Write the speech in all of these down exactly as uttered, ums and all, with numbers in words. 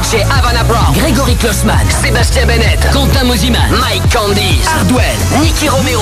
D J Havana Brown, Grégory Klossman, Sébastien Bennett, Quentin Mosiman, Mike Candice, Hardwell, Nicky Romero.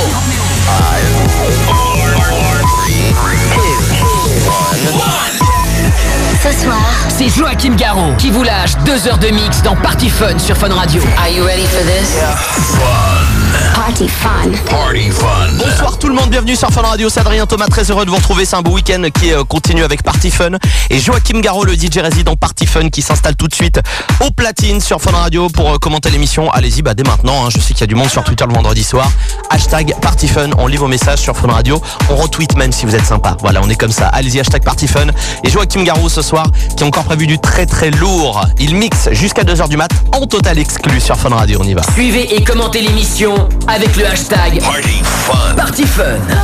Ce soir, c'est Joachim Garraud qui vous lâche deux heures de mix dans Party Fun sur Fun Radio. Are you ready for this? Yeah. Fun. Party Fun. Party Fun. Bonsoir tout le monde, bienvenue sur Fun Radio, c'est Adrien Thomas, très heureux de vous retrouver, c'est un beau week-end qui euh, continue avec Party Fun et Joachim Garraud, le D J résident Party Fun qui s'installe tout de suite au platine sur Fun Radio pour euh, commenter l'émission. Allez-y, bah dès maintenant, hein, je sais qu'il y a du monde sur Twitter le vendredi soir, hashtag Party Fun, on lit vos messages sur Fun Radio, on retweet même si vous êtes sympa, voilà on est comme ça, allez-y hashtag Party Fun. Et Joachim Garraud ce soir qui a encore prévu du très très lourd, il mixe jusqu'à deux heures du mat en total exclu sur Fun Radio, on y va. Suivez et commentez l'émission avec le hashtag Party Fun. Party Fun.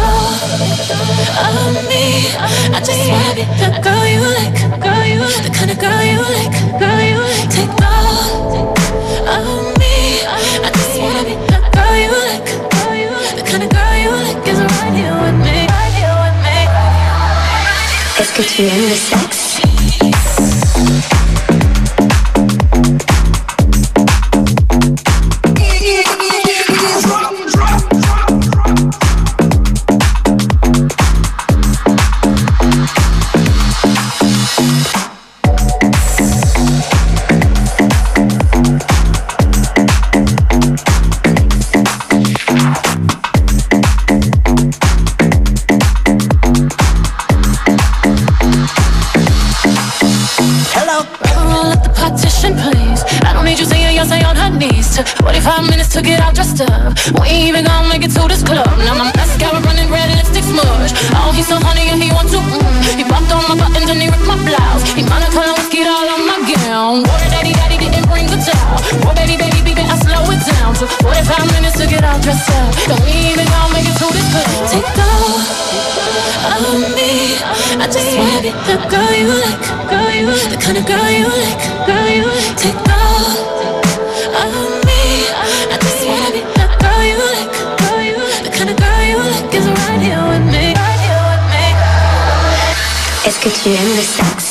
Est-ce que tu aimes le sexe? forty-five minutes to get all dressed up. We ain't even gonna make it to this club. Now my mascara running red, lipstick smudge. Oh, he's so honey and he wants to mm. He popped on my buttons and he ripped my blouse. He Monaco whiskey all on my gown. Water daddy daddy didn't bring the towel. Oh baby baby baby I slow it down. Took forty-five minutes to get all dressed up. And we ain't even gonna make it to this club. Take all of me. I just wanna be the girl you like, girl you like, the kind of girl you like, girl you like. Take all of me. I just wanna be the girl you like, girl you like, the kind of girl you like is right here with me, right here with me. Est-ce que tu aimes le sexe?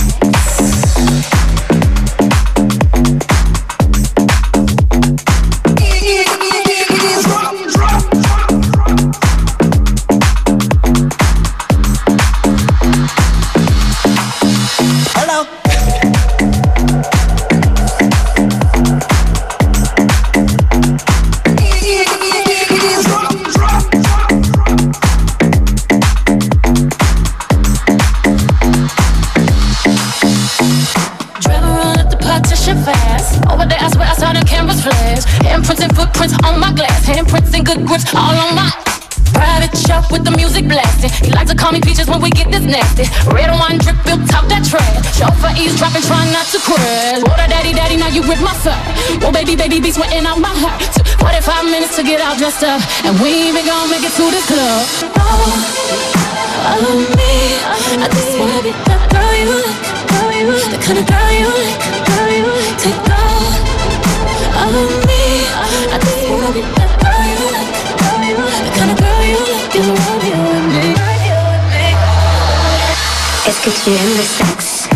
Good grips all on my private shelf with the music blasting. He likes to call me peaches when we get this nasty. Red wine drip built top that trash. Chauffeur eavesdropping, trying not to crash. Water daddy daddy, now you rip my fur. Oh baby baby, be sweating out my heart. Took forty-five minutes to get all dressed up, and we ain't even gonna make it to this club. Oh, follow me. I just wanna be the girl you like, girl you like, the kind of girl you like, girl you like. Take all of me. I just wanna be the girl you like, girl you like, the kind of girl you like is right here with me, right here with me. Est-ce que tu aimes le sexe?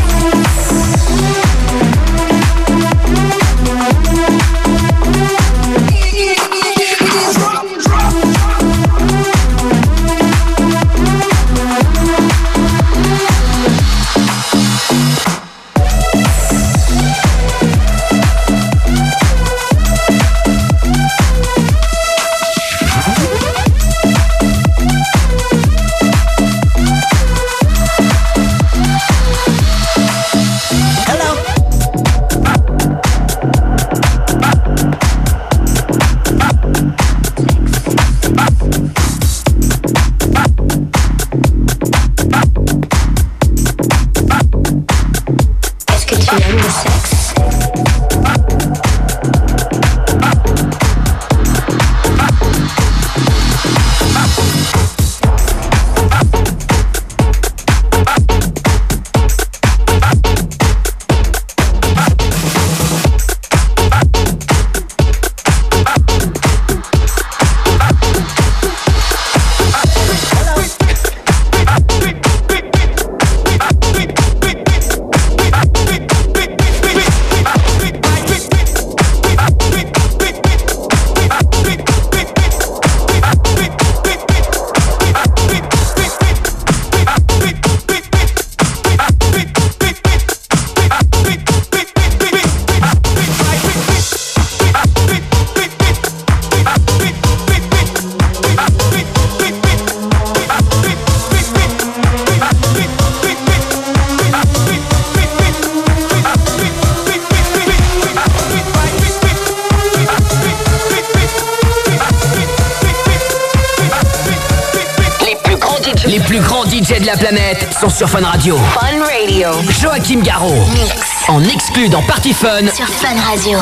D J de la planète sont sur Fun Radio. Fun Radio. Joachim Garraud. Mix. En exclu dans Party Fun. Sur Fun Radio.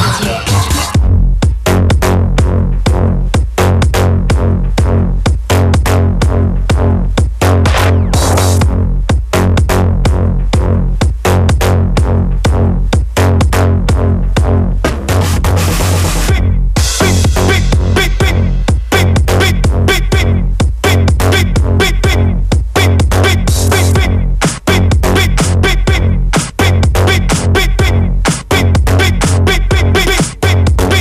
Big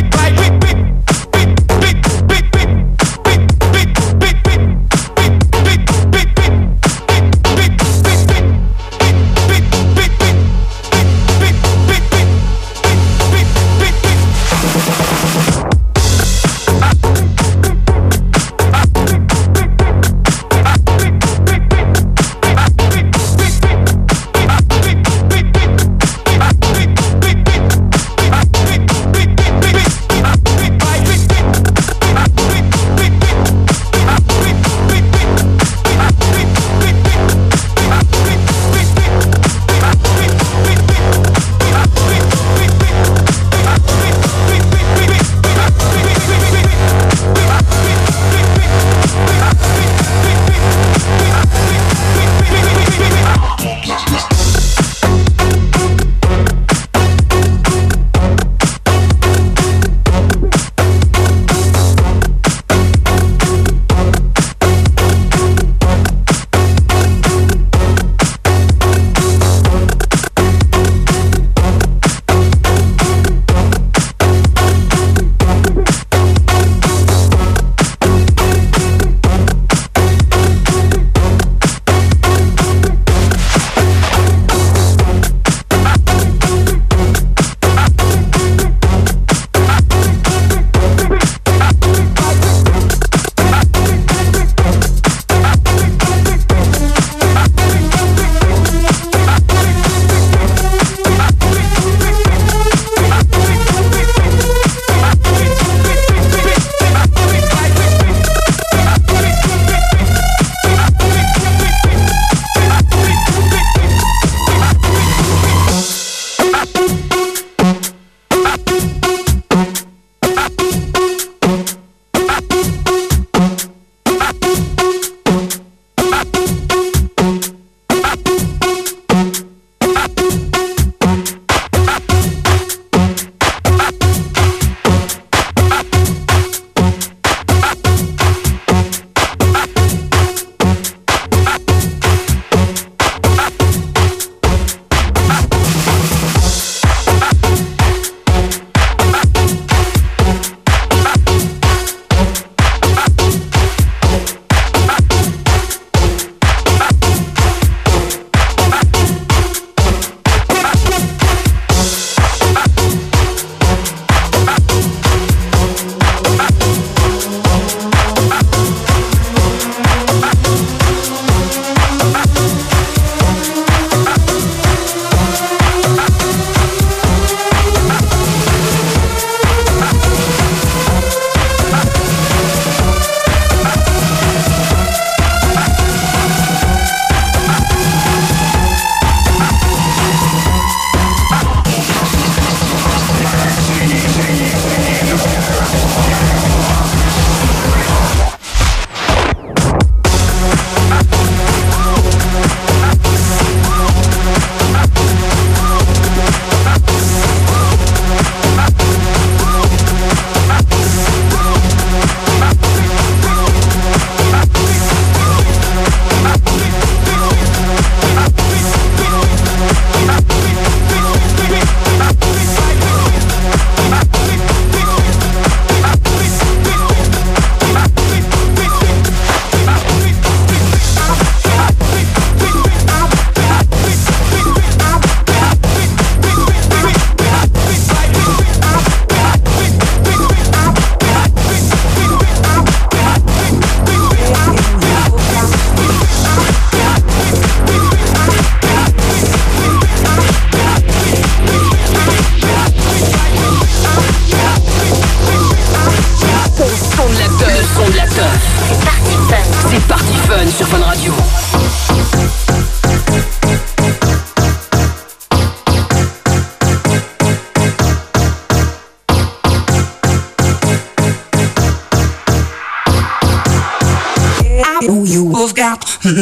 have got.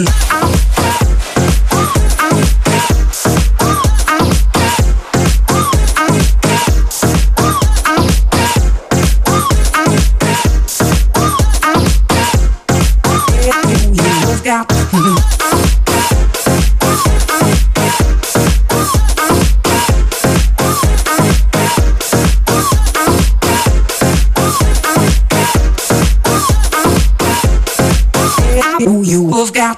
Who you have got.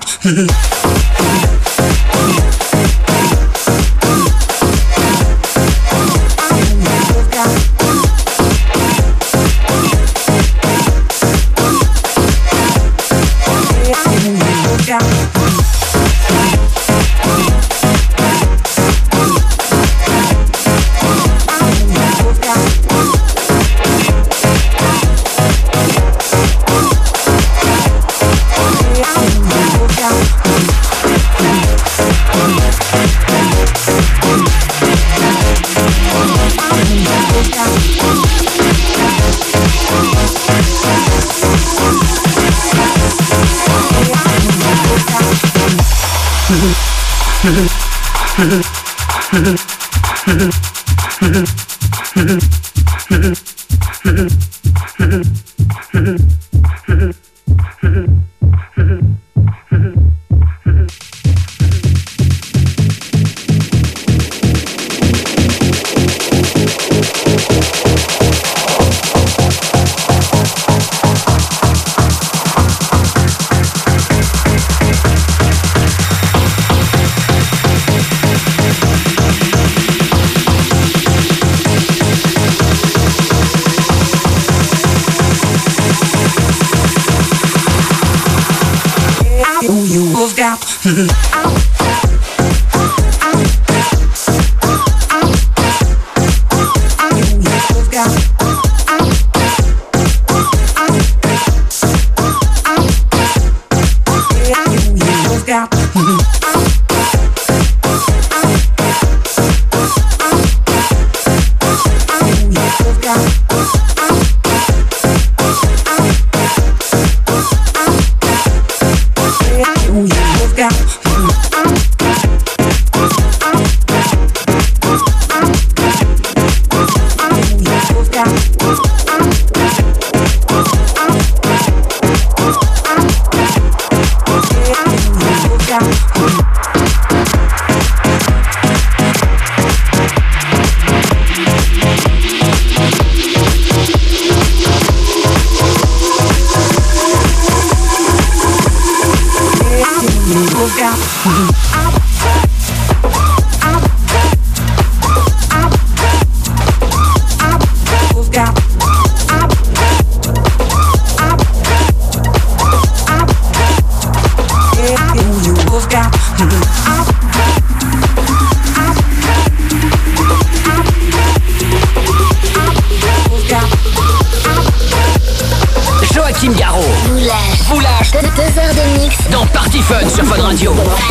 Joachim Garraud vous lâche, vous lâche deux, deux heures de mix dans Party Fun sur Fun Radio. Fun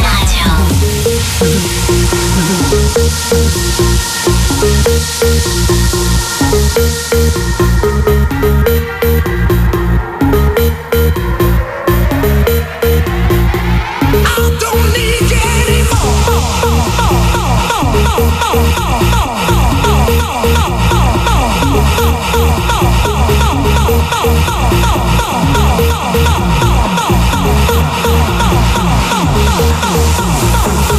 Radio. Oh,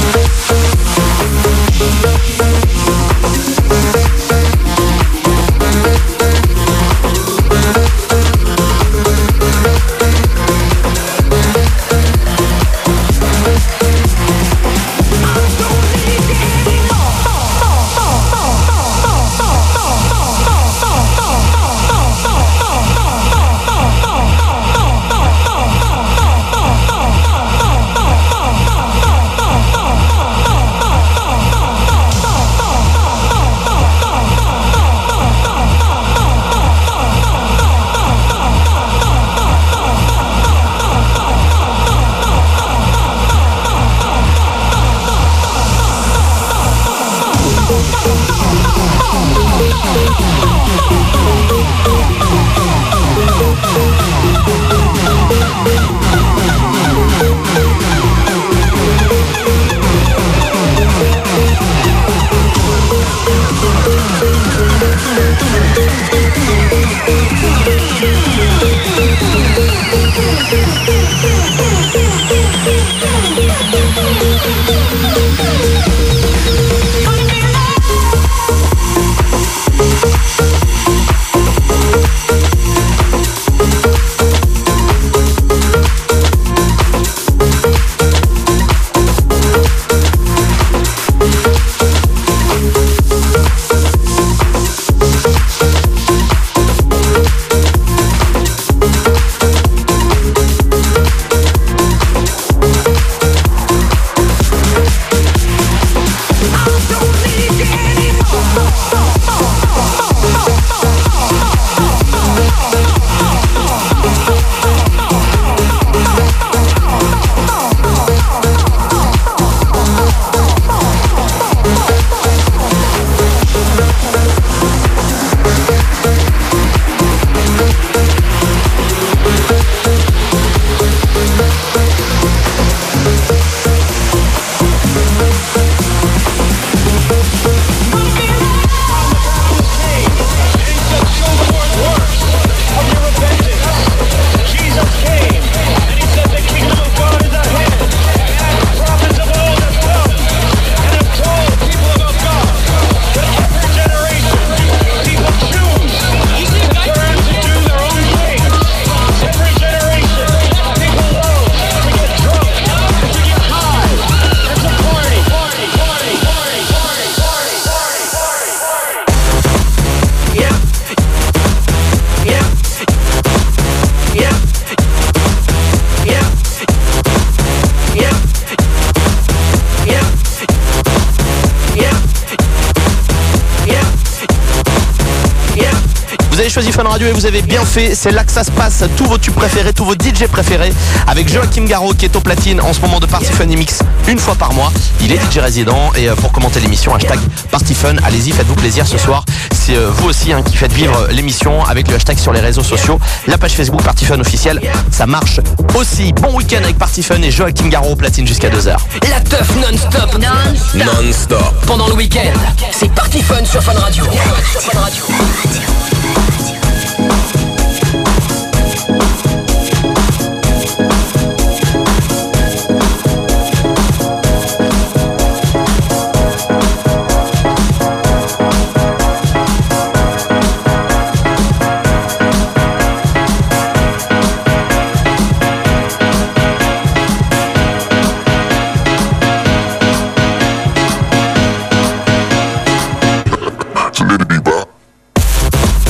Vous avez choisi Fun Radio et vous avez bien fait. C'est là que ça se passe. Tous vos tubes préférés, tous vos D J préférés. Avec Joachim Garraud qui est au platine en ce moment de Party Fun Mix une fois par mois. Il est D J résident et pour commenter l'émission, hashtag Party Fun. Allez-y, faites-vous plaisir ce soir. C'est vous aussi hein, qui faites vivre l'émission avec le hashtag sur les réseaux sociaux. La page Facebook Party Fun officielle, ça marche aussi. Bon week-end avec Party Fun et Joachim Garraud au platine jusqu'à deux heures. La teuf non-stop. Non-stop. Non-stop. Pendant le week-end, c'est Party Fun sur Fun Radio. Sur Fun Radio. So let it be bop.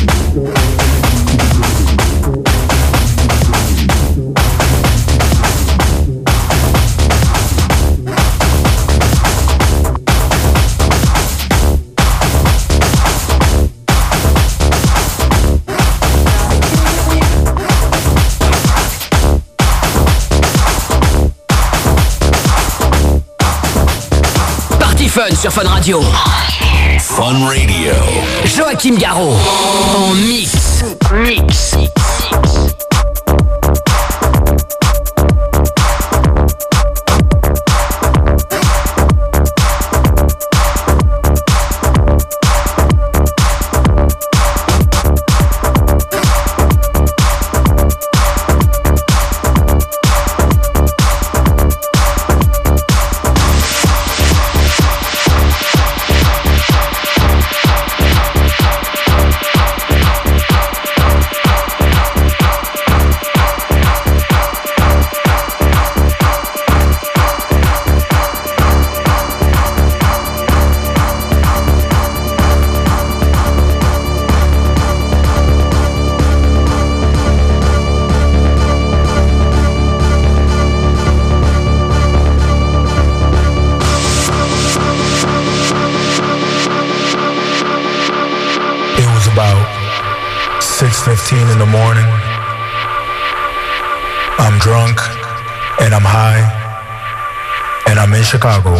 Fun sur Fun Radio. Fun Radio. Joachim Garraud en mix. Mix. six fifteen in the morning. I'm drunk and I'm high and I'm in Chicago.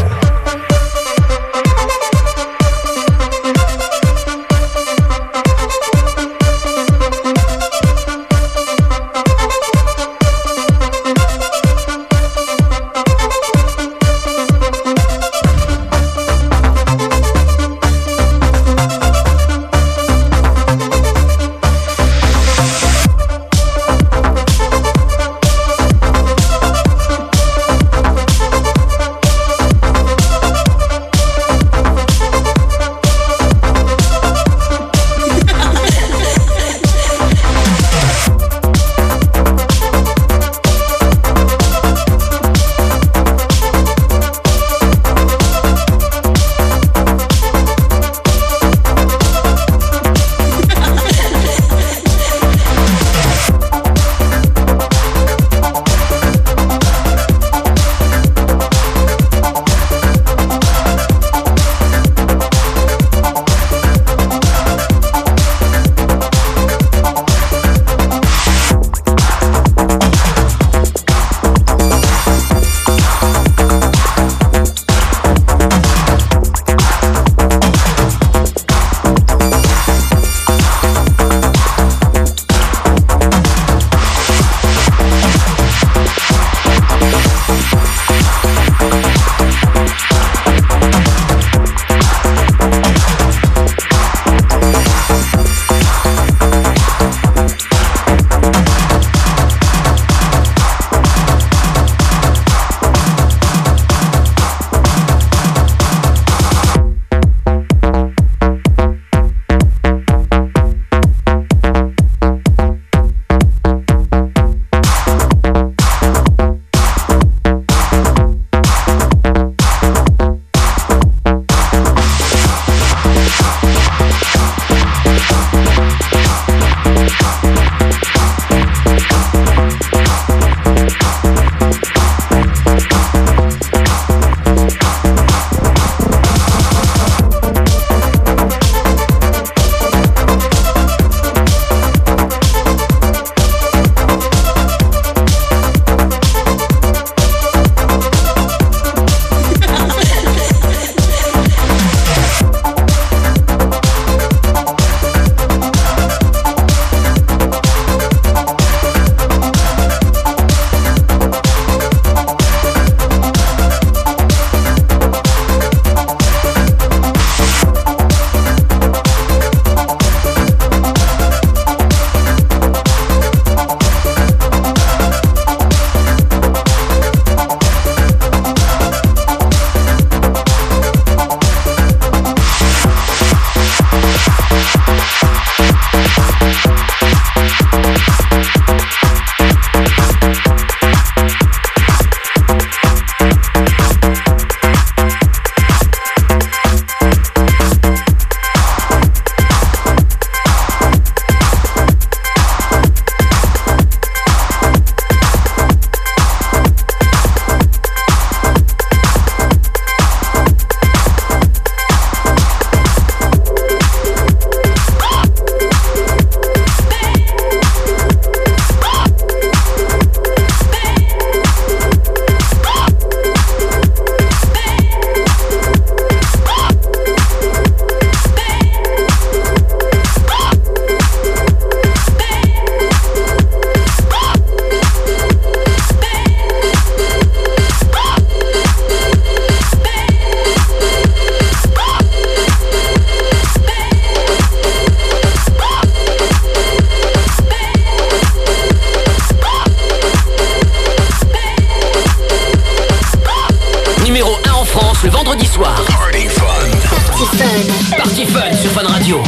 le vendredi soir. Party Fun. Party Fun. Party Fun sur Fun Radio.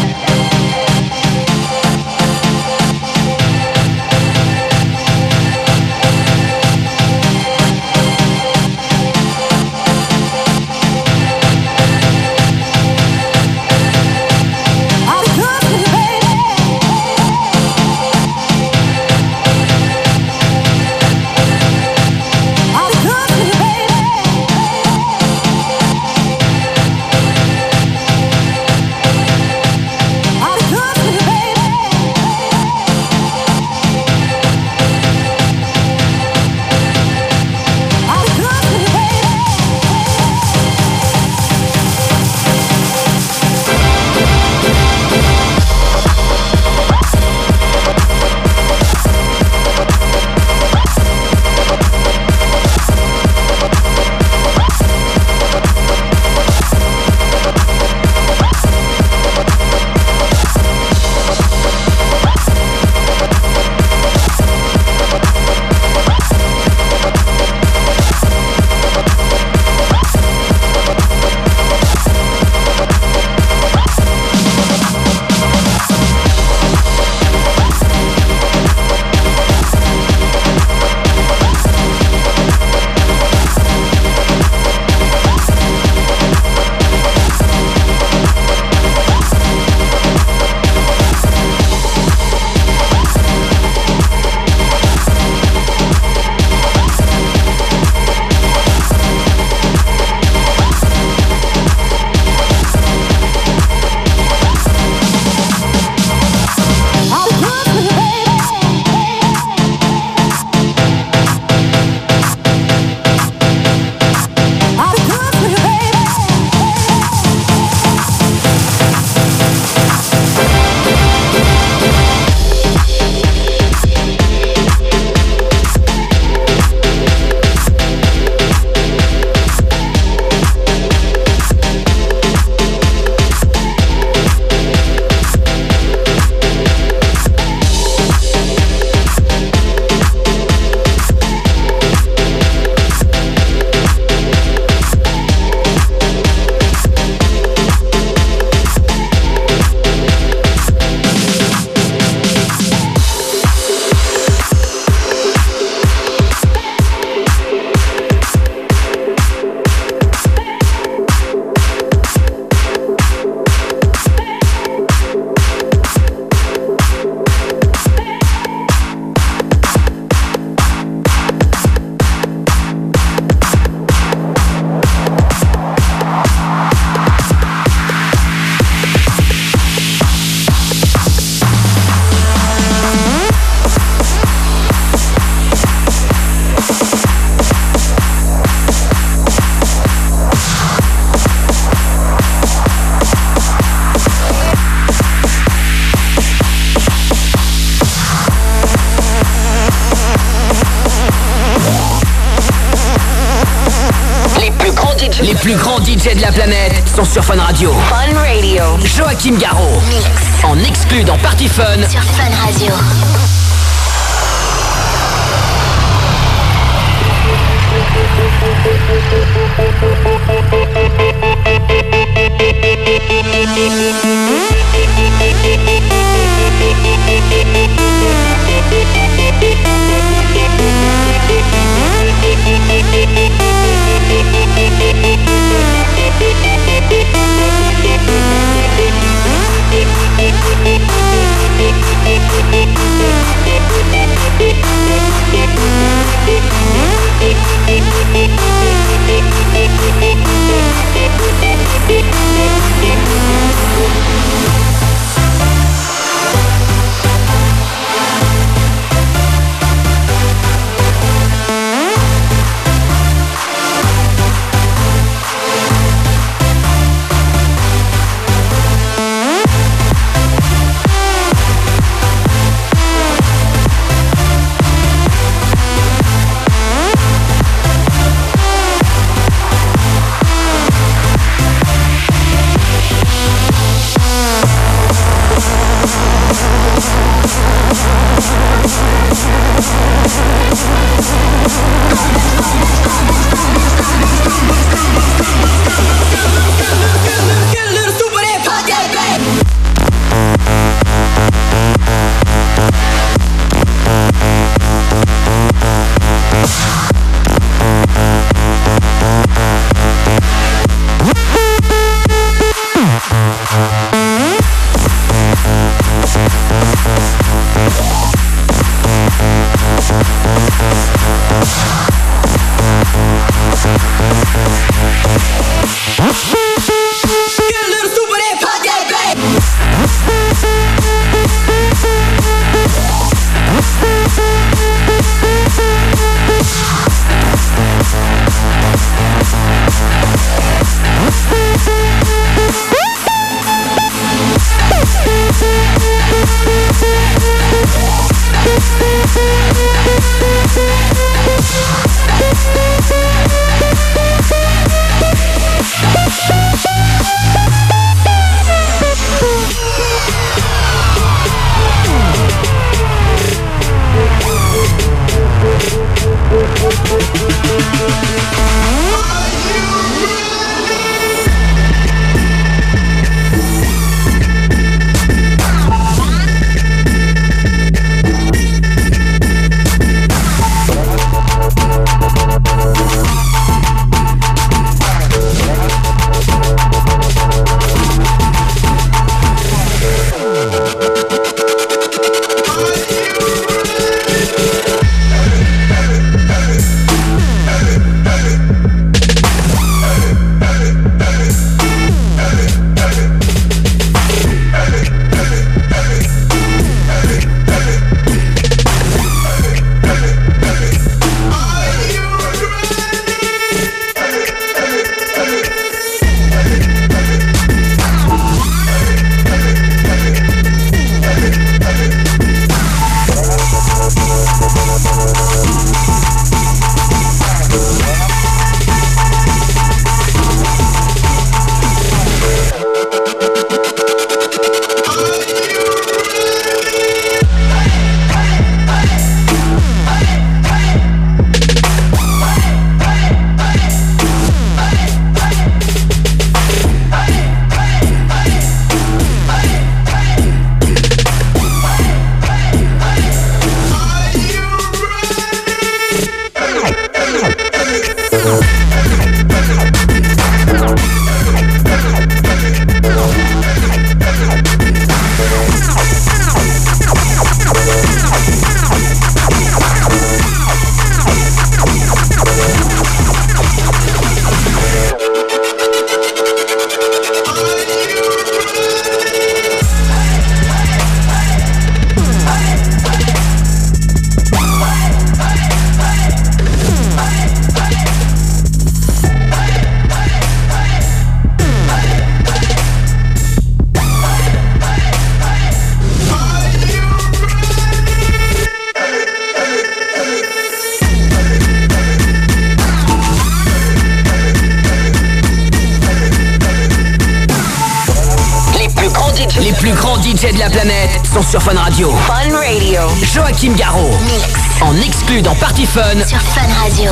Les plus grands D J de la planète sont sur Fun Radio. Fun Radio. Joachim Garraud. Mix. En exclu dans Party Fun. Sur Fun Radio. We'll be right back. plus grands D J de la planète sont sur Fun Radio. Fun Radio. Joachim Garraud, mix en exclu dans Party Fun Sur Fun Radio.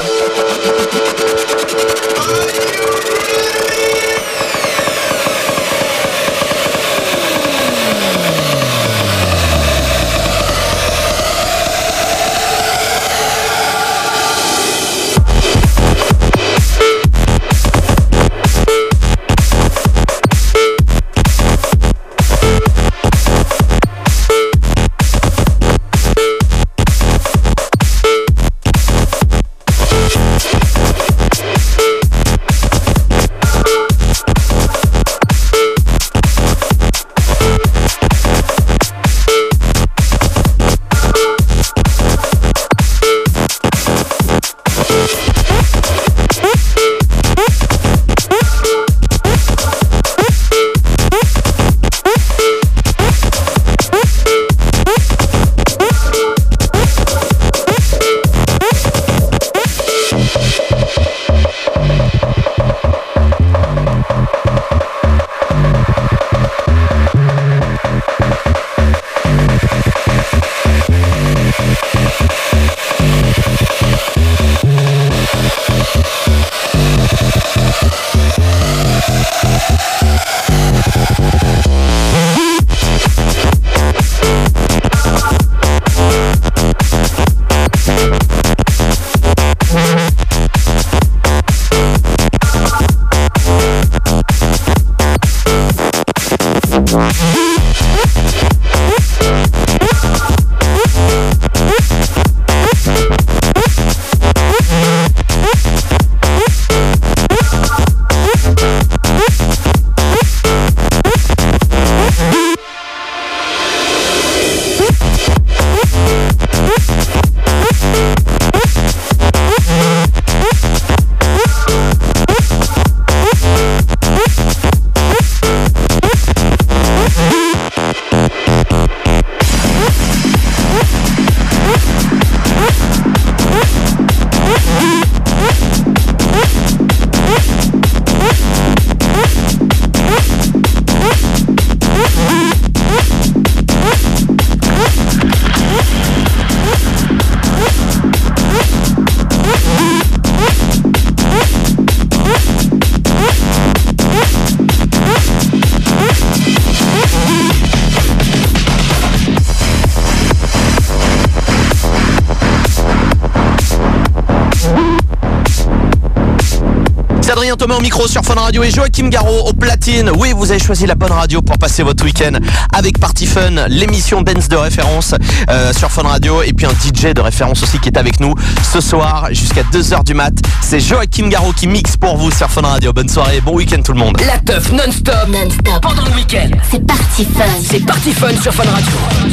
Adrien Thomas au micro sur Fun Radio et Joachim Garraud au platine. Oui, vous avez choisi la bonne radio pour passer votre week-end avec Party Fun, l'émission dance de référence euh, sur Fun Radio, et puis un D J de référence aussi qui est avec nous ce soir jusqu'à deux heures du mat. C'est Joachim Garraud qui mixe pour vous sur Fun Radio. Bonne soirée, bon week-end tout le monde. La teuf non-stop, Non-stop. pendant le week-end. C'est Party Fun. C'est Party Fun sur Fun Radio.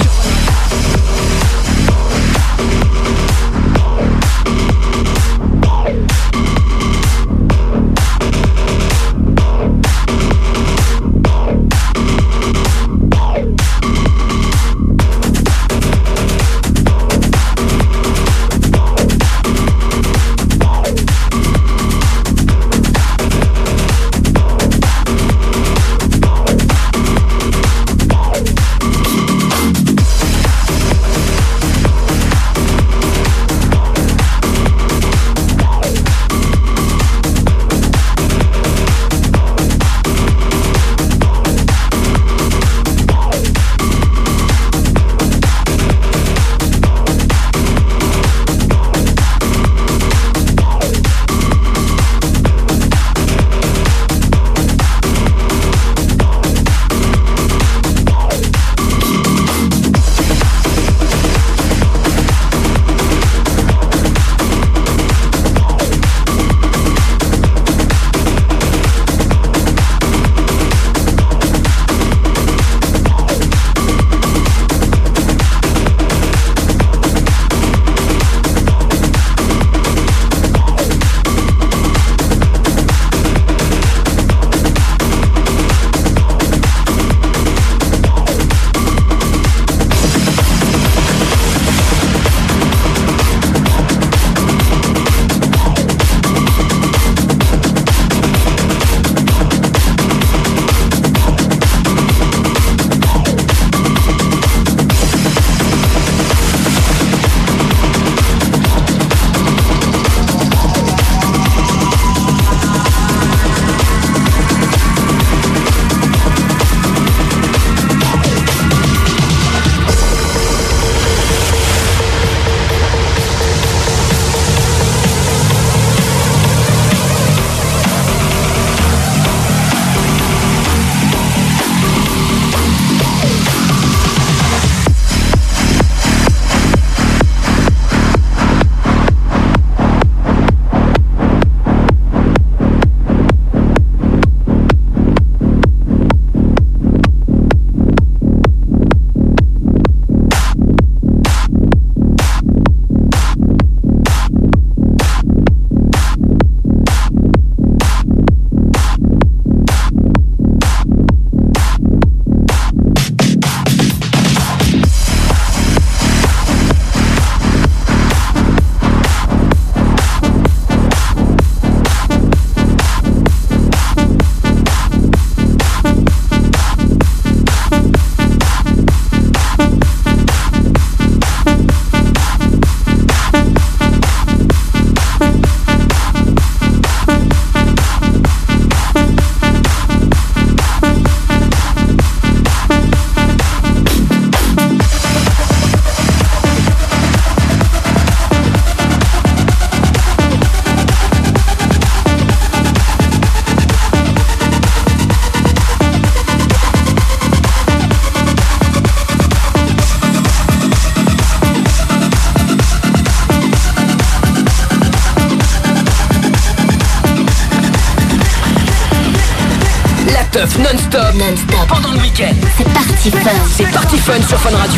best-of non-stop. Non-stop. Pendant le week-end. C'est Party Fun. C'est Party Fun sur Fun Radio.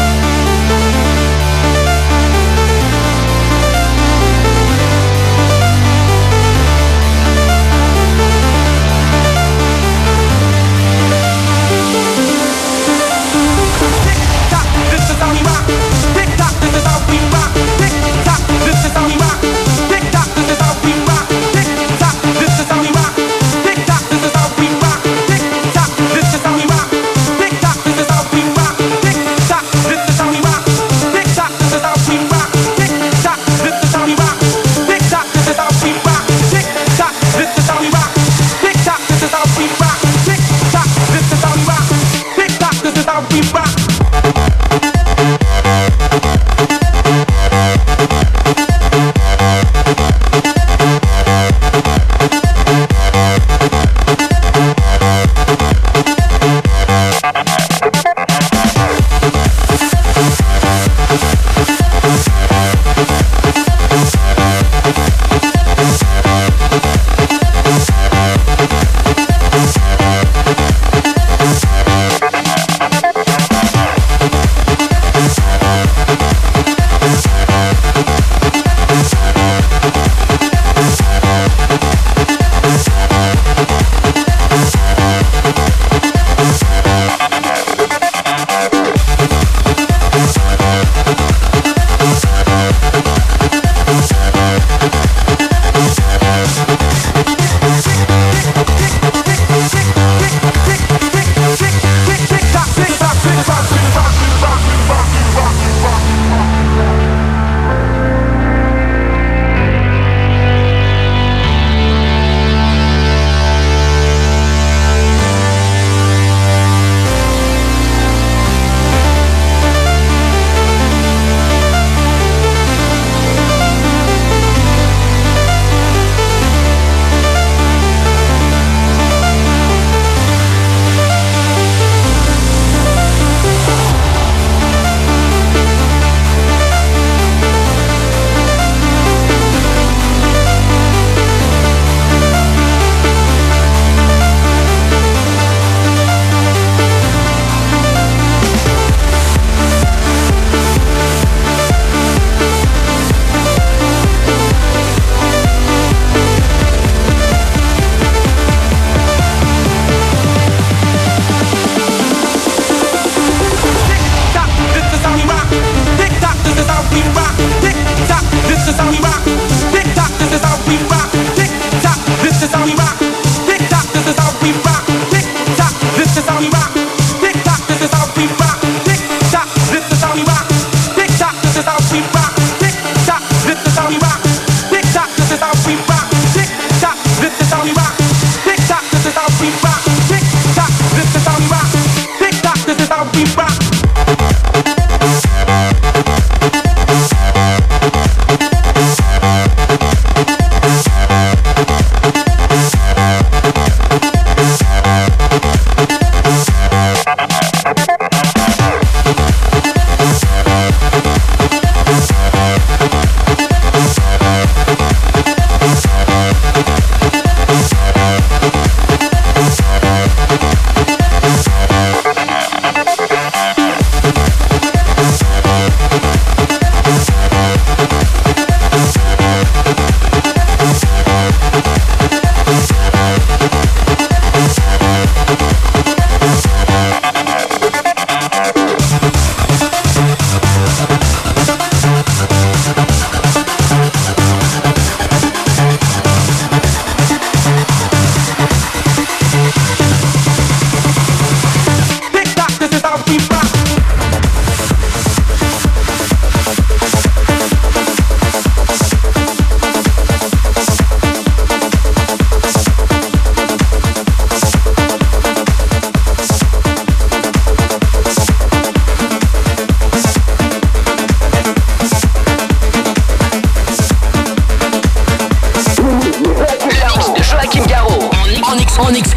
We'll be right back.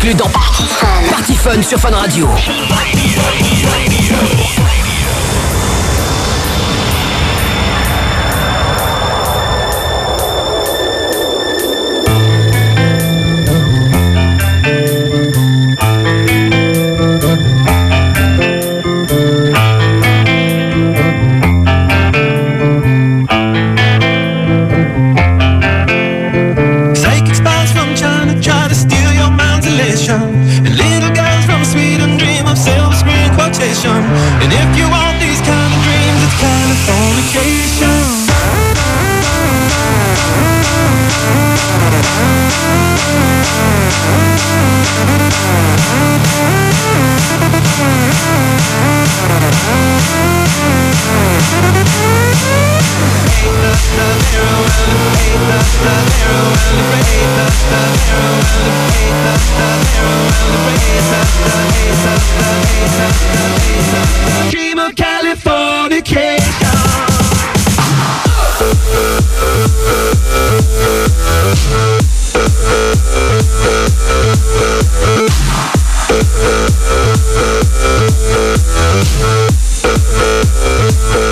exclus dans Party Fun sur Fun Radio. And little girls from Sweden dream of silver screen quotation. And if you want these kind of dreams, it's Californication. Dream of Californication.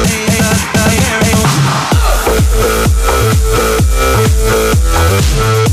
Hey,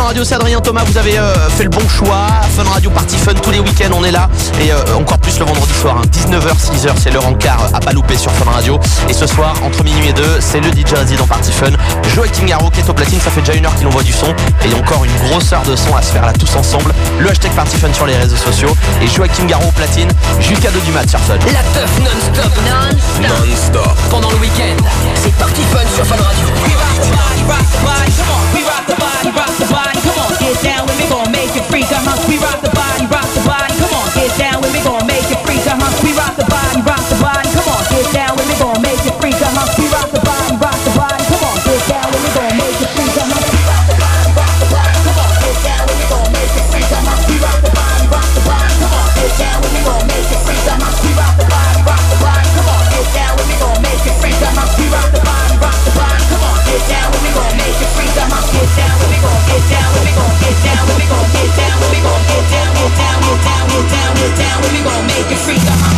Radio, c'est Adrien Thomas, vous avez euh, fait le bon choix. Fun Radio, Party Fun, tous les week-ends on est là. Et euh, encore plus le vendredi soir, hein. dix-neuf heures, six heures, c'est l'heure en quart à pas louper sur Fun Radio. Et ce soir, entre minuit et deux, c'est le D J résident Party Fun, Joachim Garraud qui est au platine. Ça fait déjà une heure qu'il envoie du son. Et il y a encore une grosse heure de son à se faire là tous ensemble. Le hashtag Party Fun sur les réseaux sociaux. Et Joachim Garraud au platine jusqu'à deux du mat sur Fun. La teuf non-stop. Non-stop. Non-stop. Pendant le week-end, c'est Party Fun sur Fun Radio. We rock the body, rock the body, come on. We rock the body, rock the body, come on. Get down with me, gon' make it freak, uh-huh. We rock the body, rock the body, come on. Get down with me, gon' make it freak, uh-huh. We rock the body, rock the body, come on. Get down with me, gon' make it freak, uh-huh. We rock the body, rock the body, come on. Get down with me, gon' make it freak, uh-huh. We rock the body, rock the body, come on. Get down with me, gon' make it freak, uh-huh. We rock the body, rock the body, come on. Get down with me, gon' make it freak, uh-huh. We rock the body, rock the body, come on. Get down with me, gon' make it freak, uh-huh. We rock the body, rock the body, come on. Get down with me, gon' make it freak, uh-huh. Get down with me, gon' get down with me, gon' get down with me, gon' get down with me, gon' get down, get down, get down, get down, get down with me, gon' make it freak, uh-huh.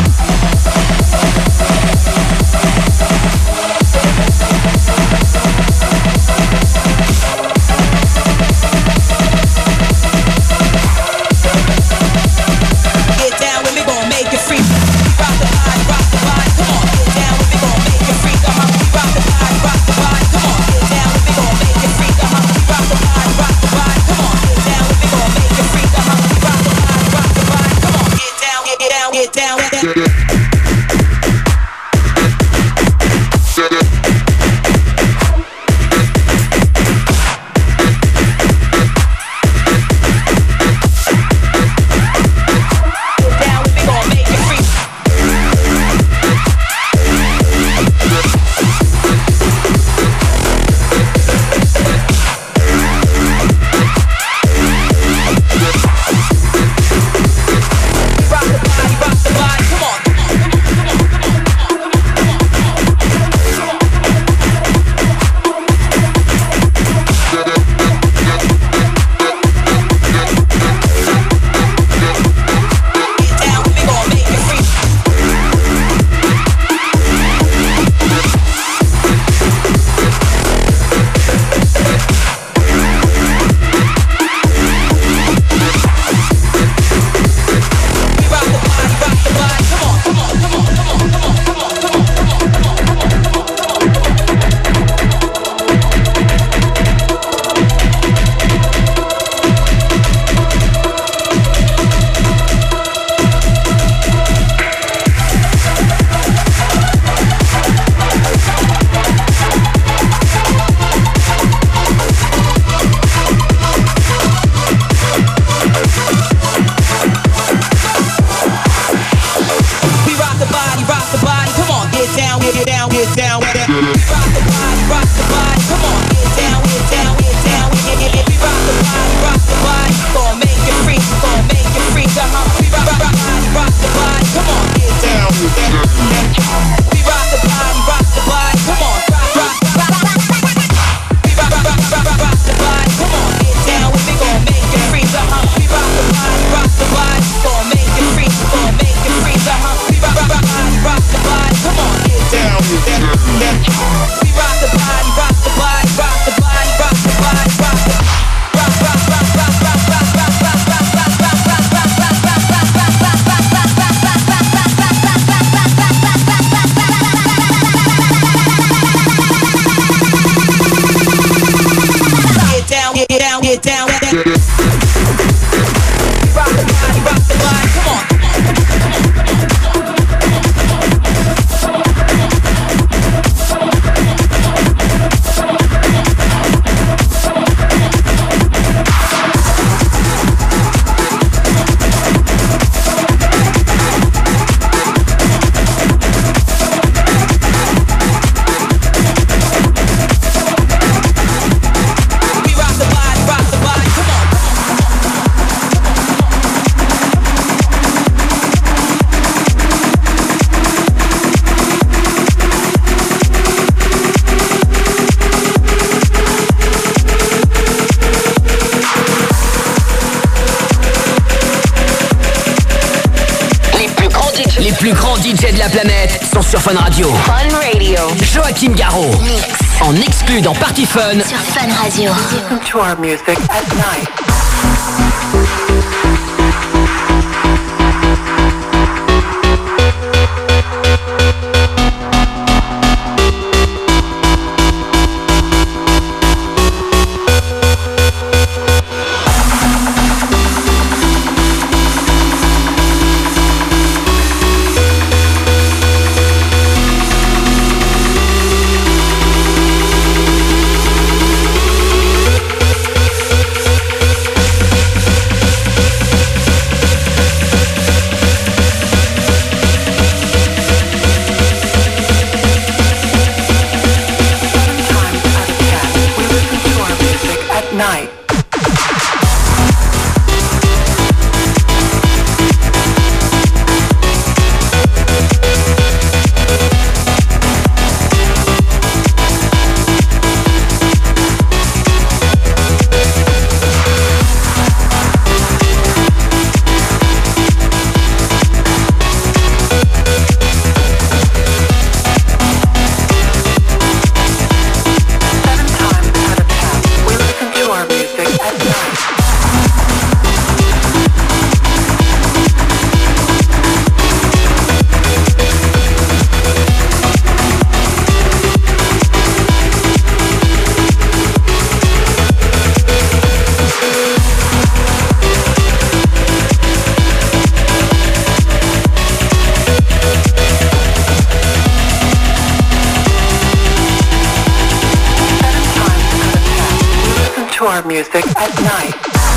Les plus grands D J de la planète sont sur Fun Radio. Fun Radio. Joachim Garraud. Mix. En exclu dans Party Fun Sur Fun Radio. Listen to our music at night. Night. Our music at night.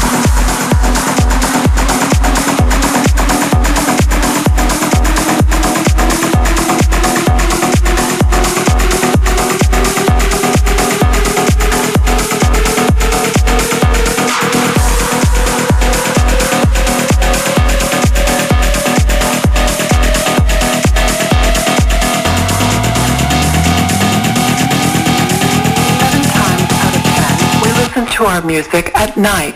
To our music at night.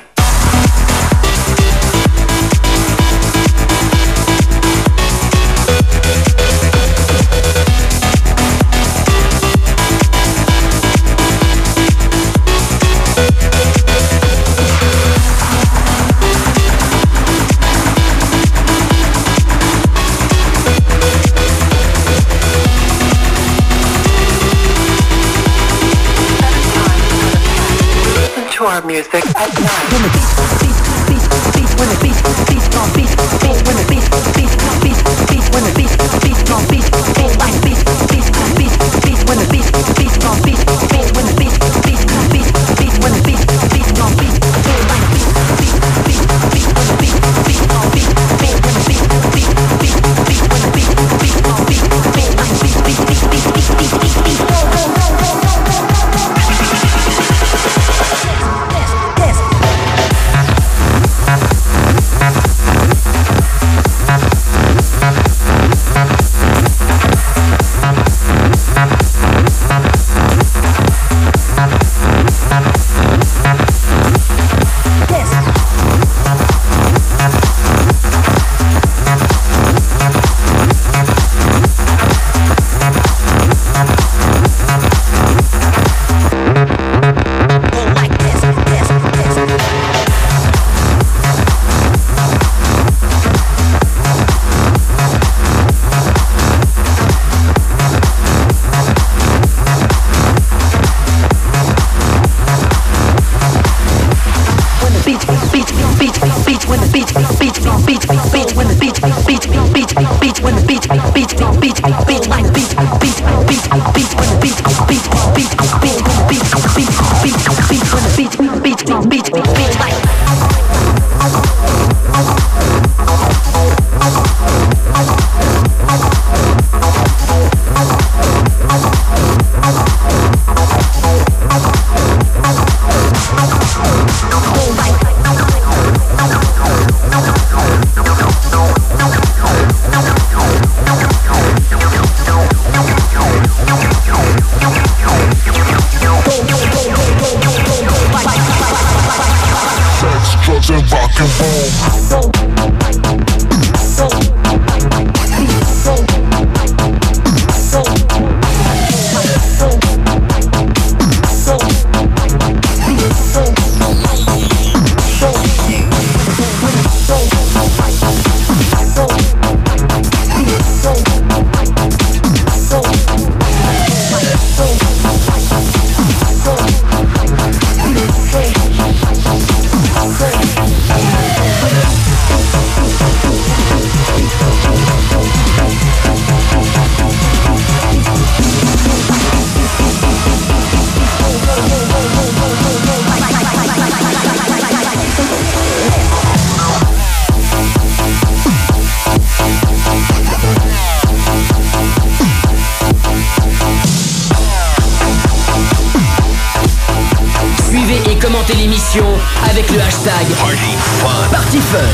To our music at night. When the beat, beat, beat, beat, when the beat, beat, gon' beat, beat, when the beat, beat, beat, beat, when the beat, beat, gon' beat, beat, like beat, beat, beat, beat, when the beat, beat, gon' beat, beat, when the beat, beat, beat, beat, when the beat, beat, gon' beat, beat, like beat, beat, beat, beat, when the beat, beat, gon' beat, beat, when the beat, beat, beat, beat, when the beat, beat, gon' beat, beat, like beat, beat, beat, beat, beat, beat, beat, beat. commentez l'émission avec le hashtag PartyFun.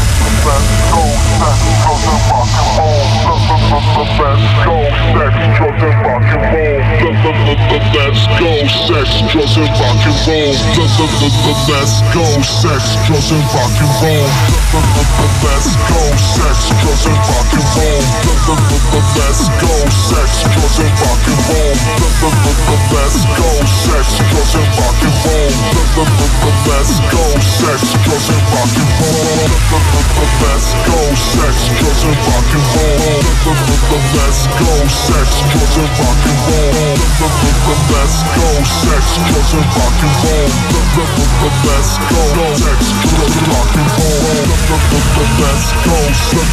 Let's go, sex, drugs and rock and roll. Let's go, sex, drugs and rock and roll. Let's go, sex, drugs and rock and roll. Let's go, sex, drugs and rock and roll. Let's go, sex, drugs and rock and roll. Let's go, sex, drugs and rock and roll. Let's go, sex, drugs and rock and roll. Let's go, sex, drugs and rock and roll. Let's go, sex, drugs and rock and roll. Let's go, sex, drugs and rock and roll. Let's go, let's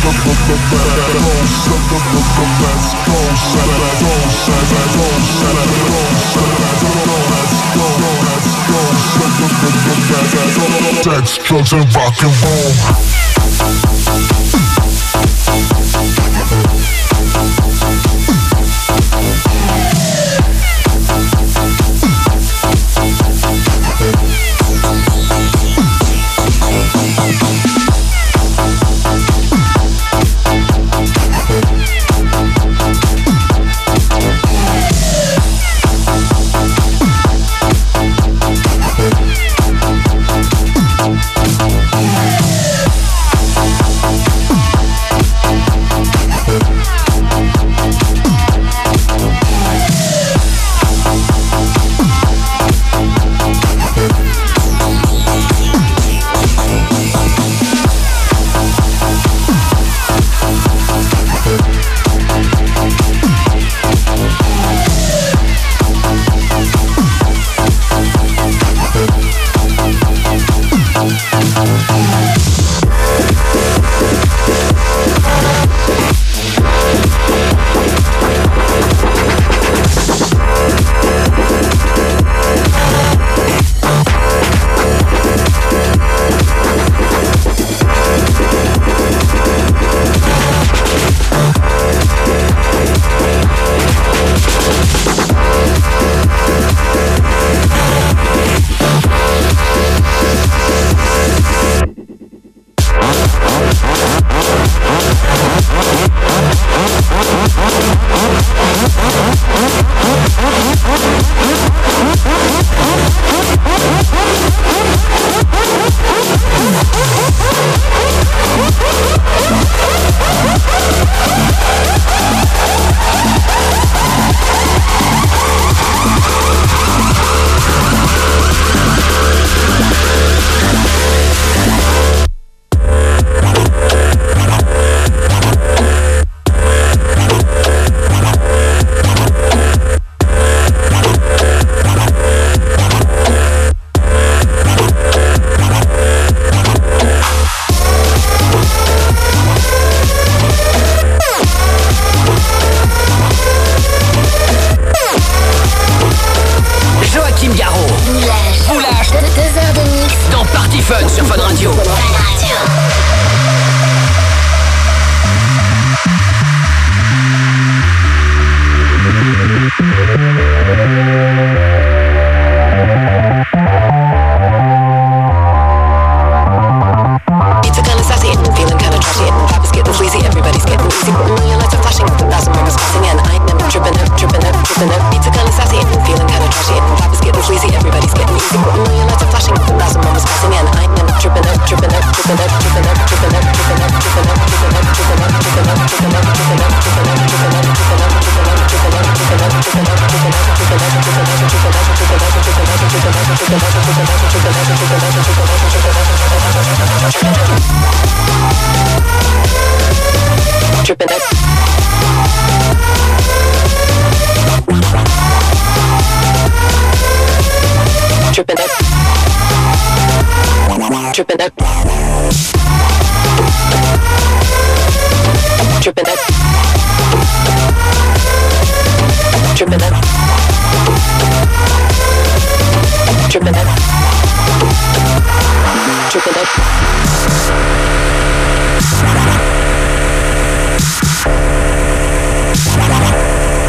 go, sex, drugs and rock and roll.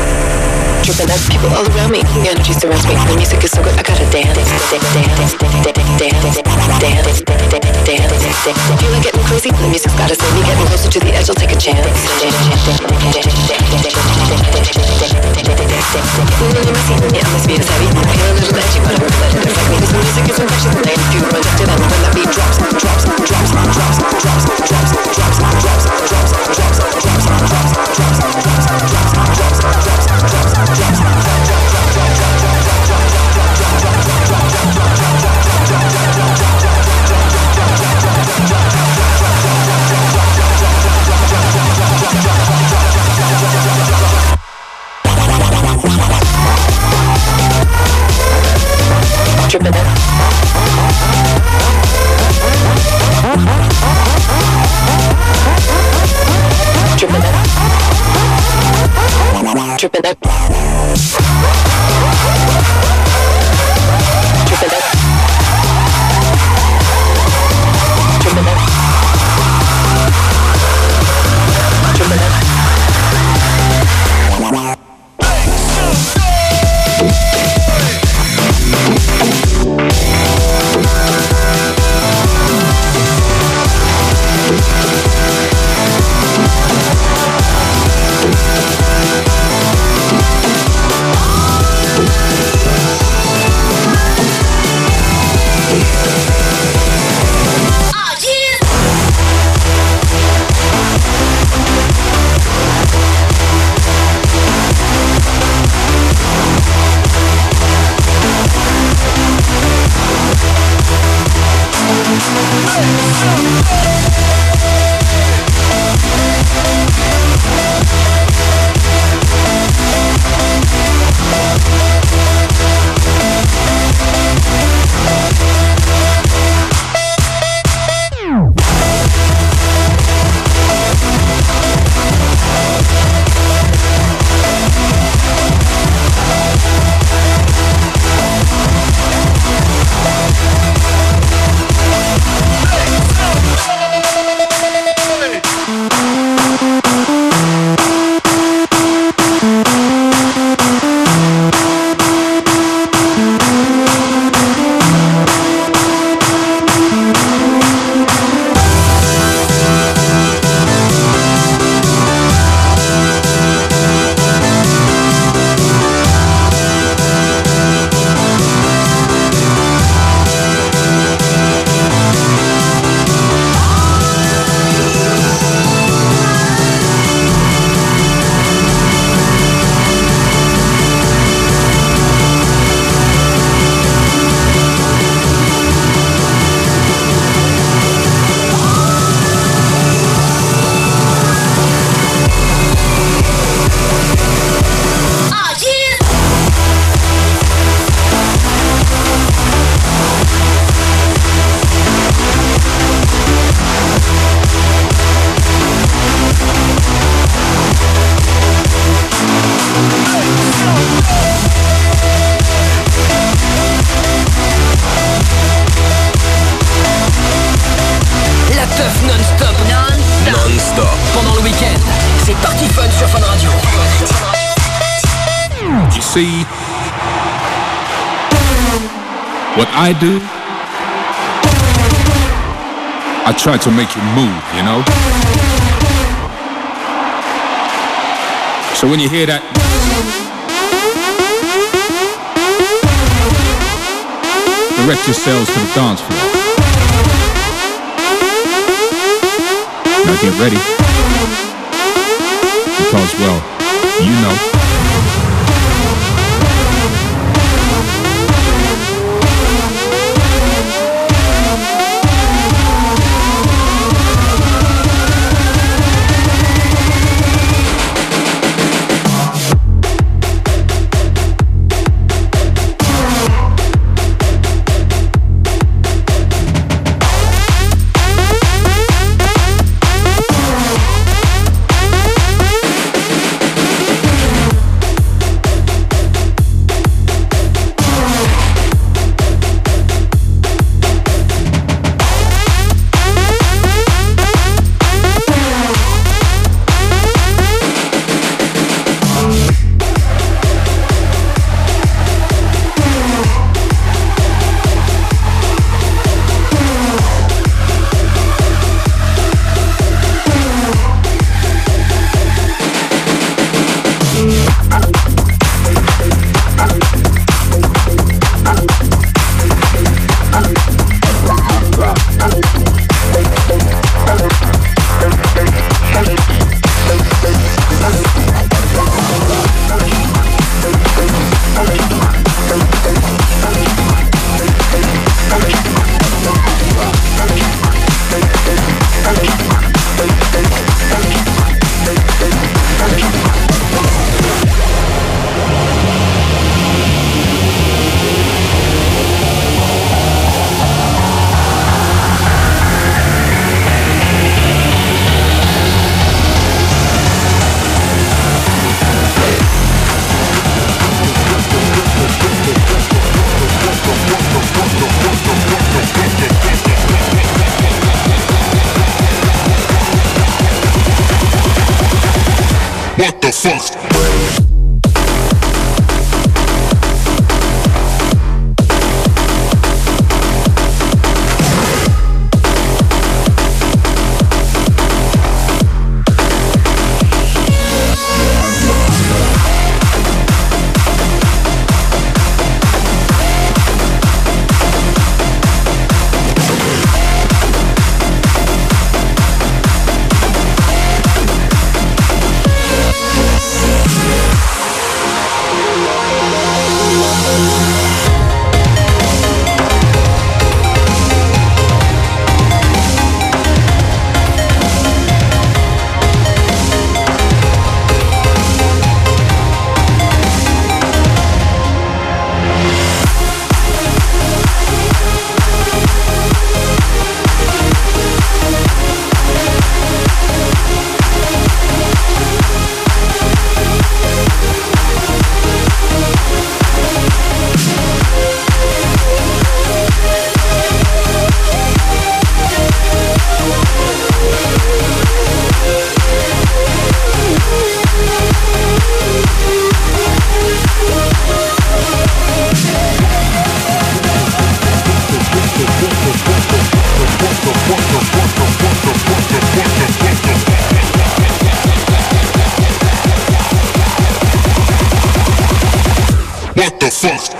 People all around me, the energy surrounds me. The music is so good, I gotta dance, dance, dance, dance, dance. Feel like getting crazy? The music's gotta save me. Getting closer to the edge, I'll take a chance. Getting a little messy, yeah, my speed is heavy. I feel a little edgy, but I won't let it affect me. This music is infectious, and I ain't few rejected. And when that beat drops, drops, drops, drops, drops, drops, drops, drops, drops, drops, drops, drops, tripping it. Tripping it. Tripping it. Tripping it. Tripping it. Tripping it. See what I do? I try to make you move, you know? So when you hear that, direct yourselves to the dance floor. Now get ready. Because, well, you know. the fuck? What the fuck?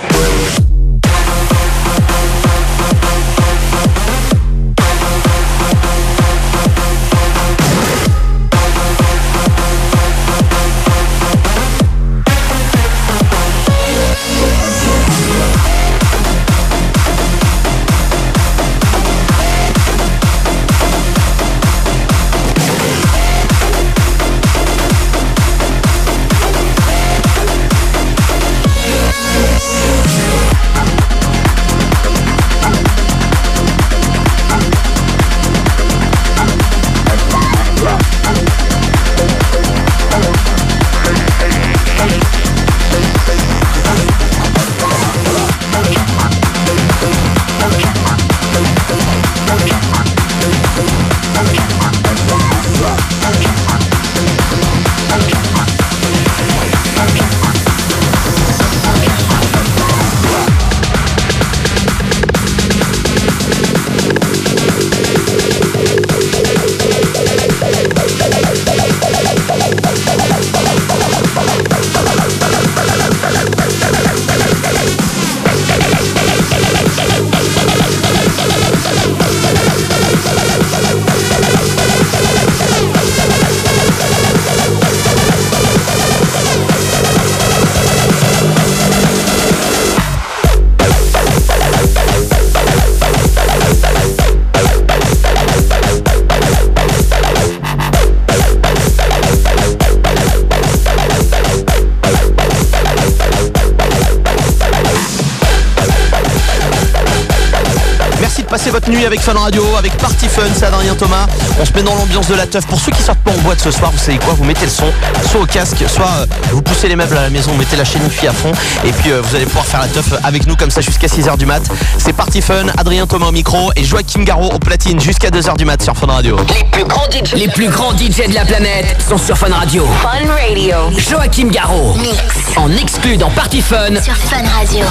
Passez votre nuit avec Fun Radio, avec Party Fun, c'est Adrien Thomas. On se met dans l'ambiance de la teuf. Pour ceux qui sortent pas en boîte ce soir, vous savez quoi, vous mettez le son, soit au casque, soit euh, vous poussez les meubles à la maison, vous mettez la chaîne Hi-Fi à fond, et puis euh, vous allez pouvoir faire la teuf avec nous comme ça jusqu'à six heures du mat. C'est Party Fun, Adrien Thomas au micro et Joachim Garraud au platine jusqu'à deux heures du mat sur Fun Radio. Les plus grands D J, les plus grands D J de la planète sont sur Fun Radio. Fun Radio. Joachim Garraud, Mix. en exclu dans Party Fun Sur Fun Radio.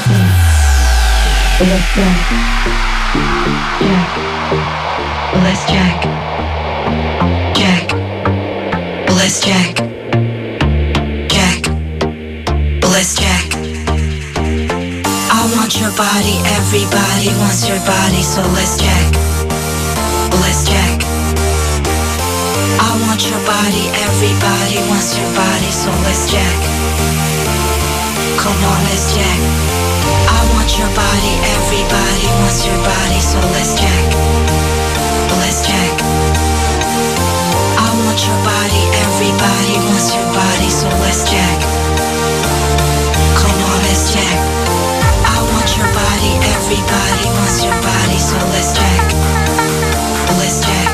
Let's jack, jack, let's jack, jack, let's jack. I want your body, everybody wants your body, so let's jack, let's jack. I want your body, everybody wants your body, so let's jack. Come on, let's jack. I want your body, everybody wants your body, so let's jack. Let's jack. I want your body, everybody wants your body, so let's jack. Come on, let's jack. I want your body, everybody wants your body, so let's jack. Let's jack.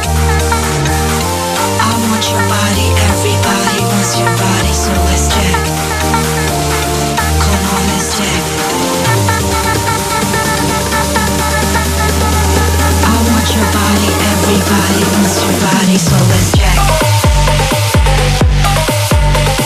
I want your body, everybody wants your body, so let's jack. Come on, let's jack. Your body, everybody wants your body, so let's jack.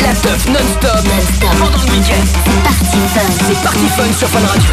La teuf non-stop. Non-stop. Pendant le week-end. C'est Party Fun. C'est Party Fun sur Fun Radio.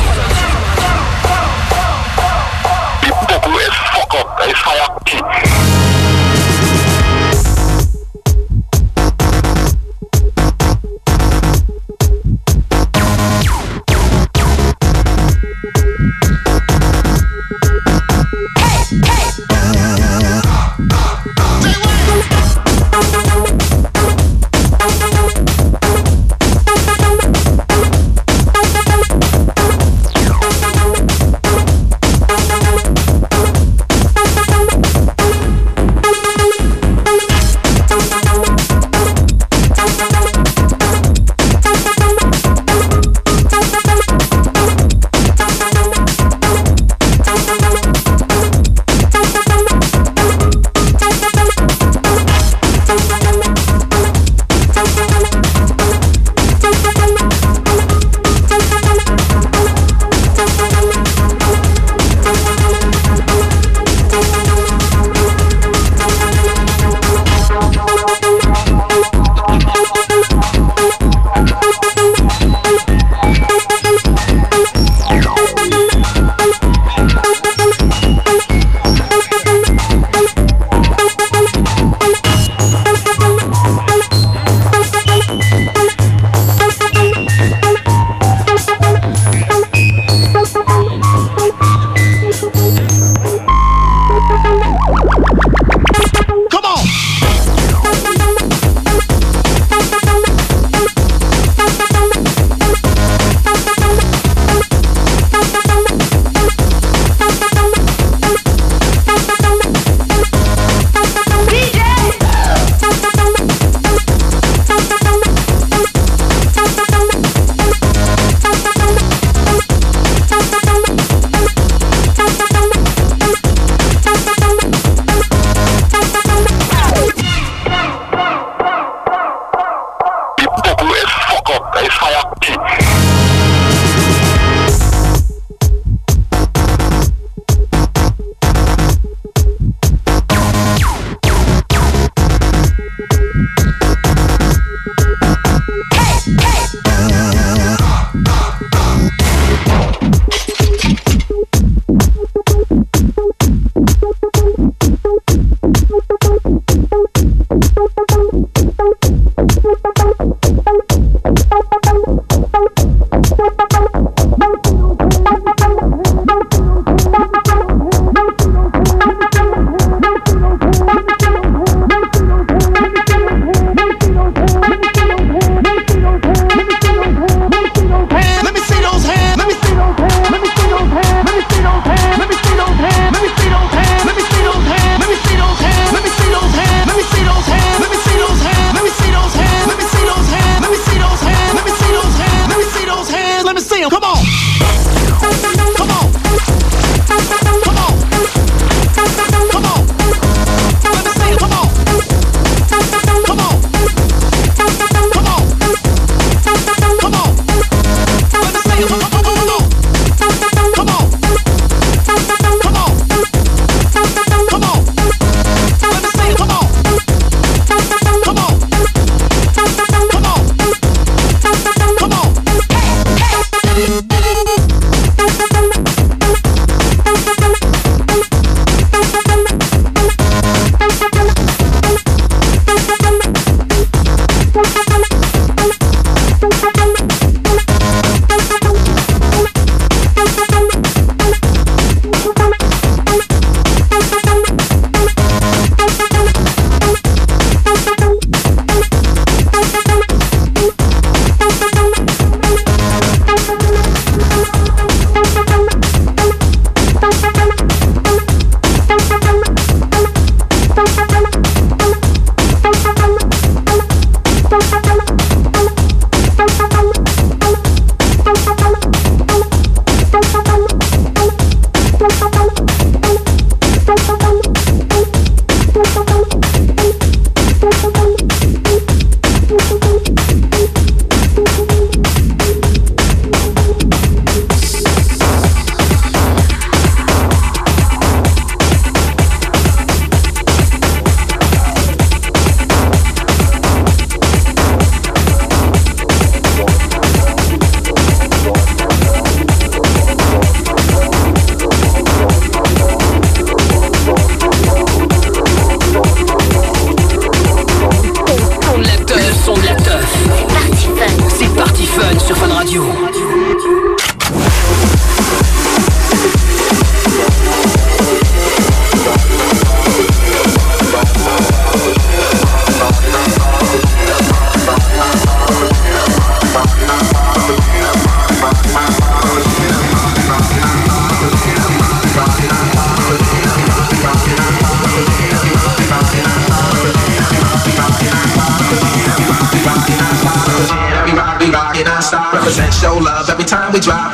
we rock it non-stop. Represent, show love every time we drop.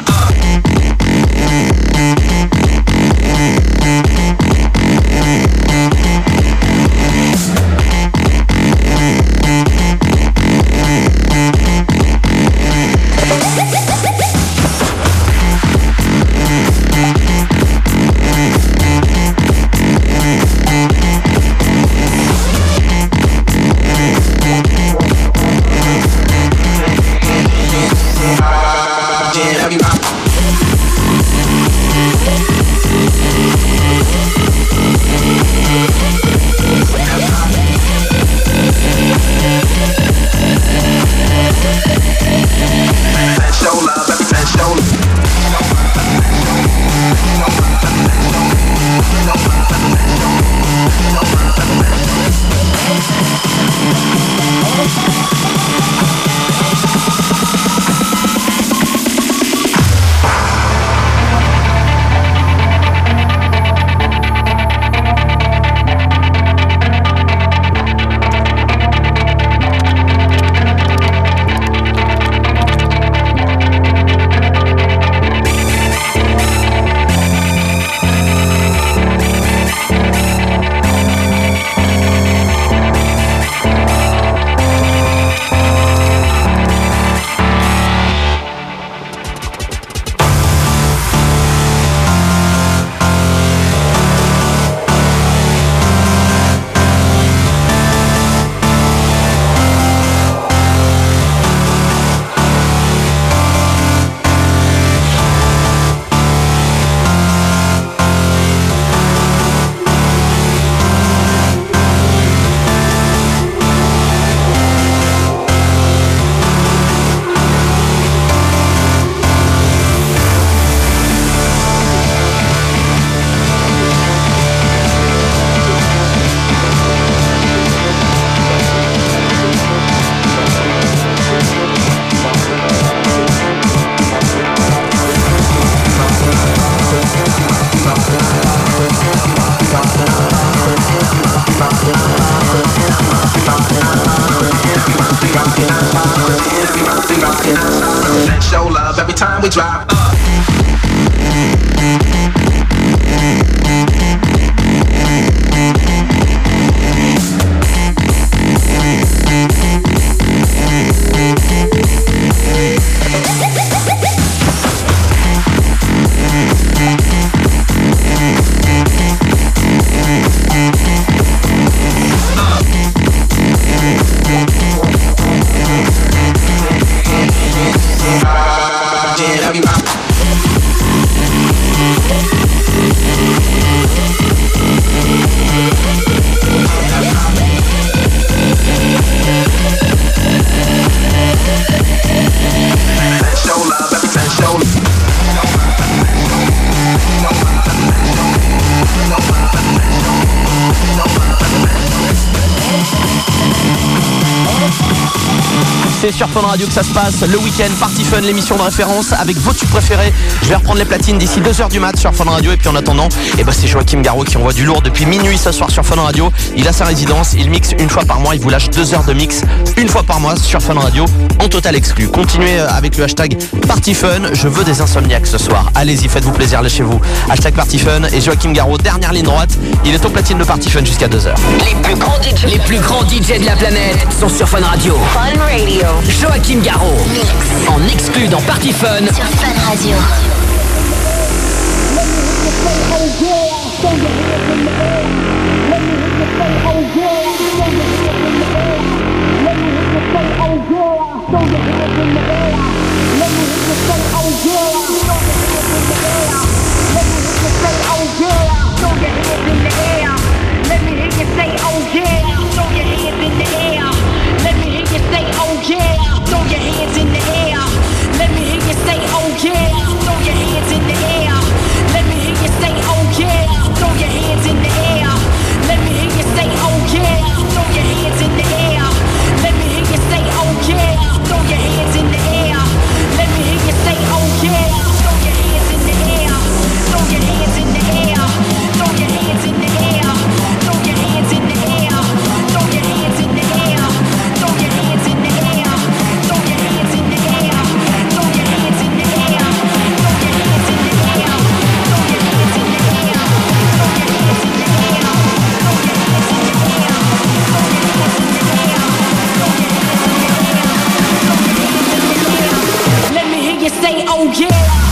Show love every time we drop. C'est sur Fun Radio que ça se passe, le week-end, Party Fun, l'émission de référence avec vos tubes préférés. Je vais reprendre les platines d'ici deux heures du mat sur Fun Radio. Et puis en attendant, eh ben c'est Joachim Garraud qui envoie du lourd depuis minuit ce soir sur Fun Radio. Il a sa résidence, il mixe une fois par mois, il vous lâche deux heures de mix une fois par mois sur Fun Radio en total exclu. Continuez avec le hashtag Party Fun, je veux des insomniaques ce soir. Allez-y, faites-vous plaisir, lâchez-vous. Hashtag Party Fun et Joachim Garraud, dernière ligne droite. Il est au platine de Party Fun jusqu'à deux heures. Les plus grands D J, les plus grands D J de la planète sont sur Fun Radio. Fun Radio. Joachim Garraud, mix en exclu dans Party Fun sur Fun Radio. Say, oh yeah, throw your hands in the air. Let me hear you say, oh yeah. oh yeah.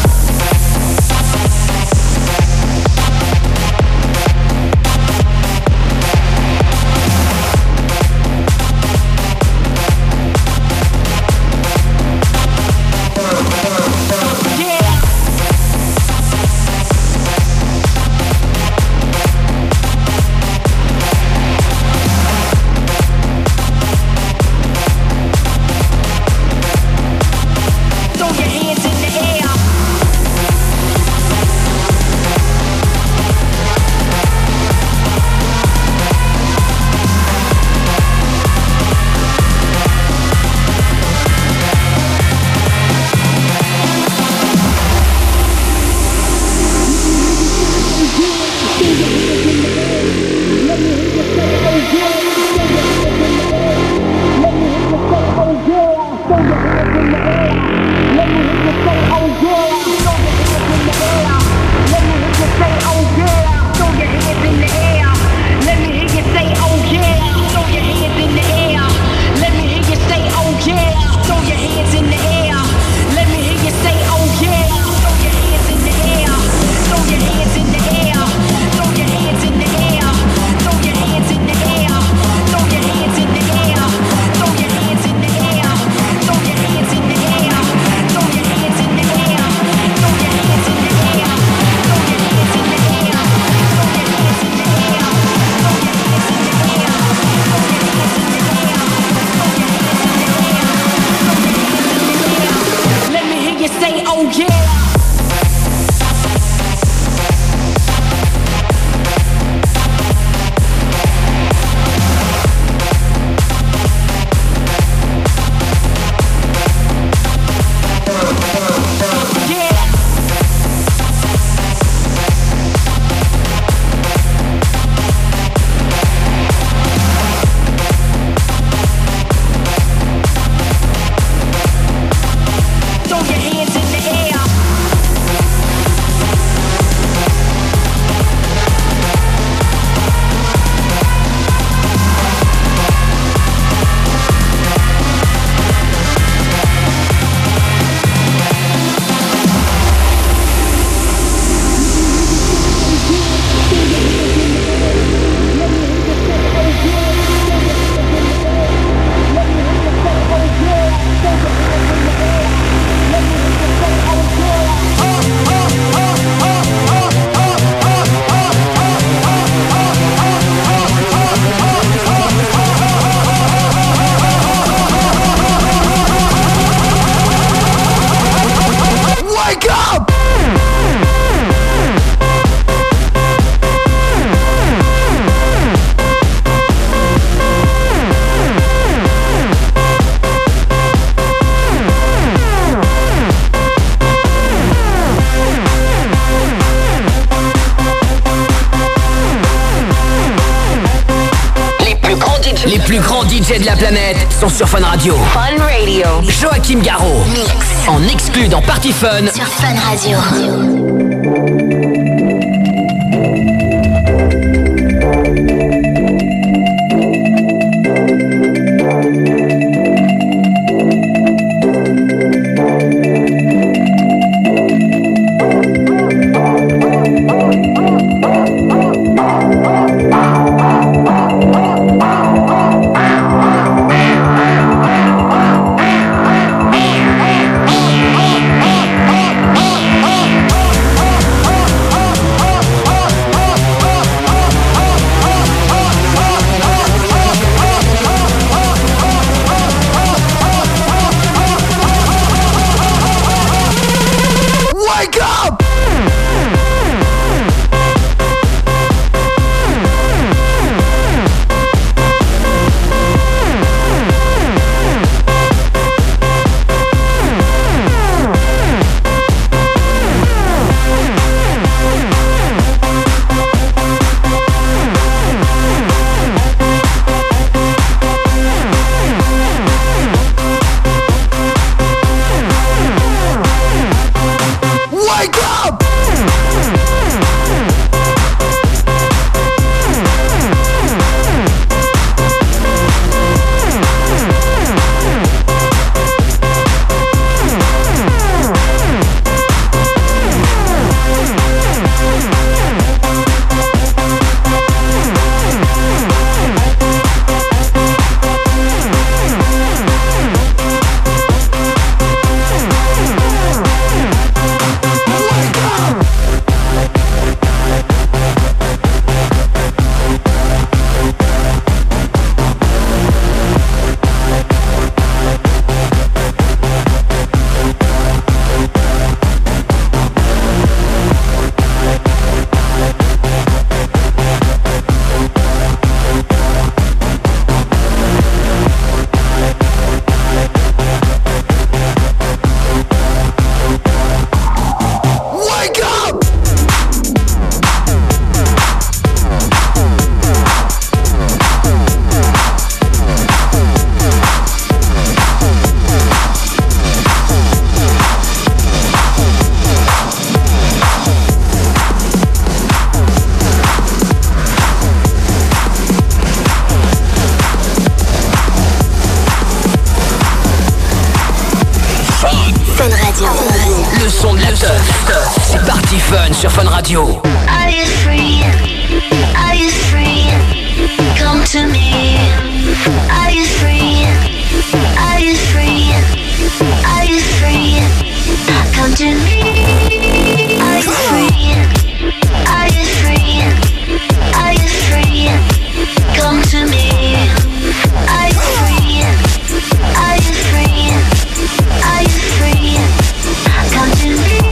Les plus grands D J de la planète sont sur Fun Radio. Fun Radio. Joachim Garraud. Mix. En exclu dans Party Fun. Sur Fun Radio. Oh, Fun Radio. Le son de la teuf. C'est Party Fun sur Fun Radio. Are you free? Are you free? Come to me. Are you free? Are you free? Are you free? Come to me. Are you free? Are you free? Are you free? Come to me. Are you free? Are you free? Are you free? Come to me.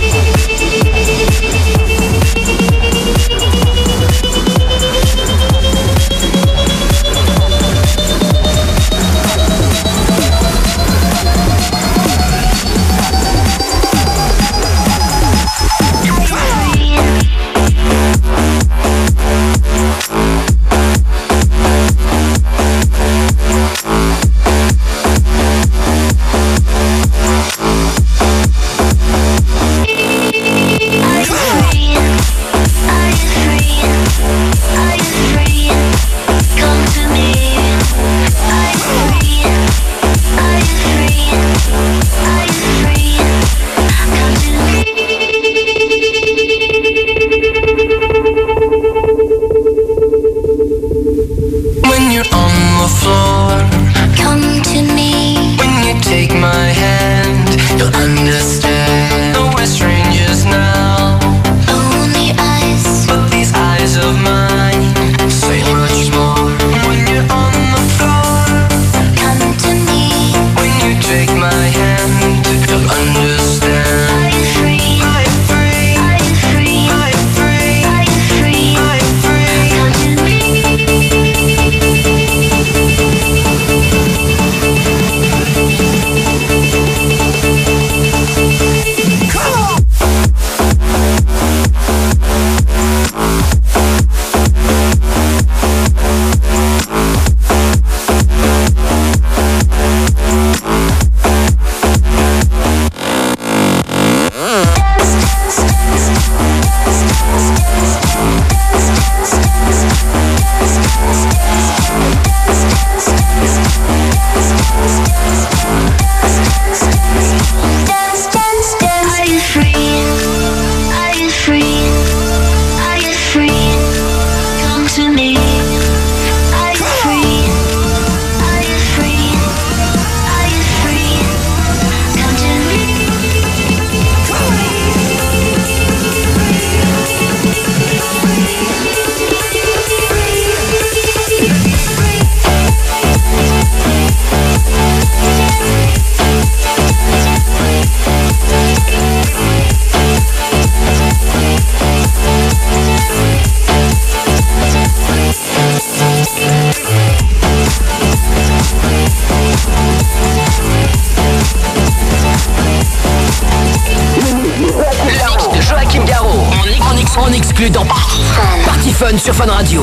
Dans Party Fun sur Fun Radio.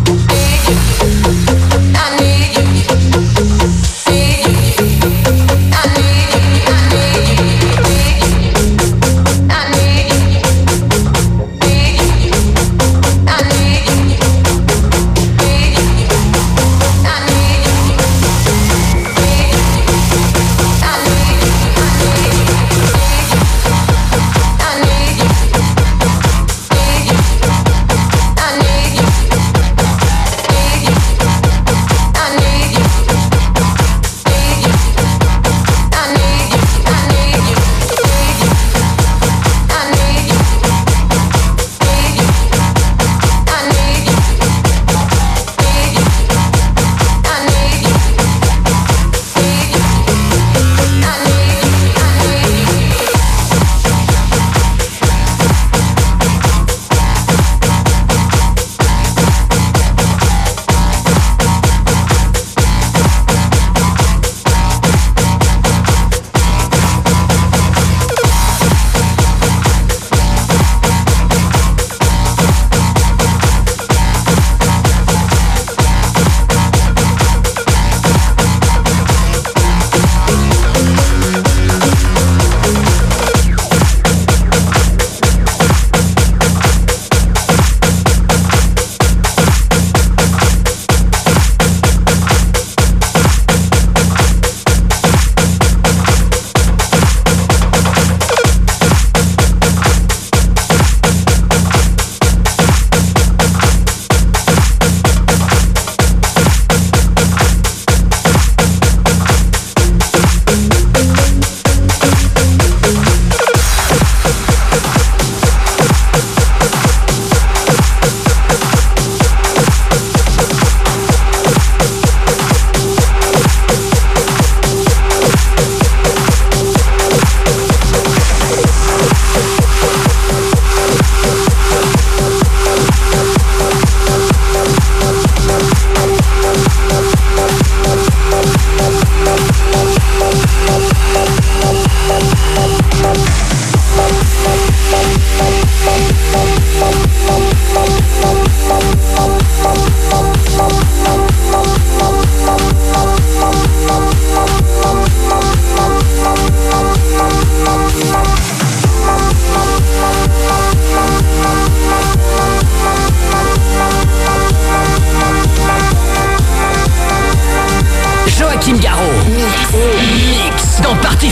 I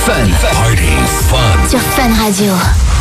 Fun. Party fun. Sur Fun Radio.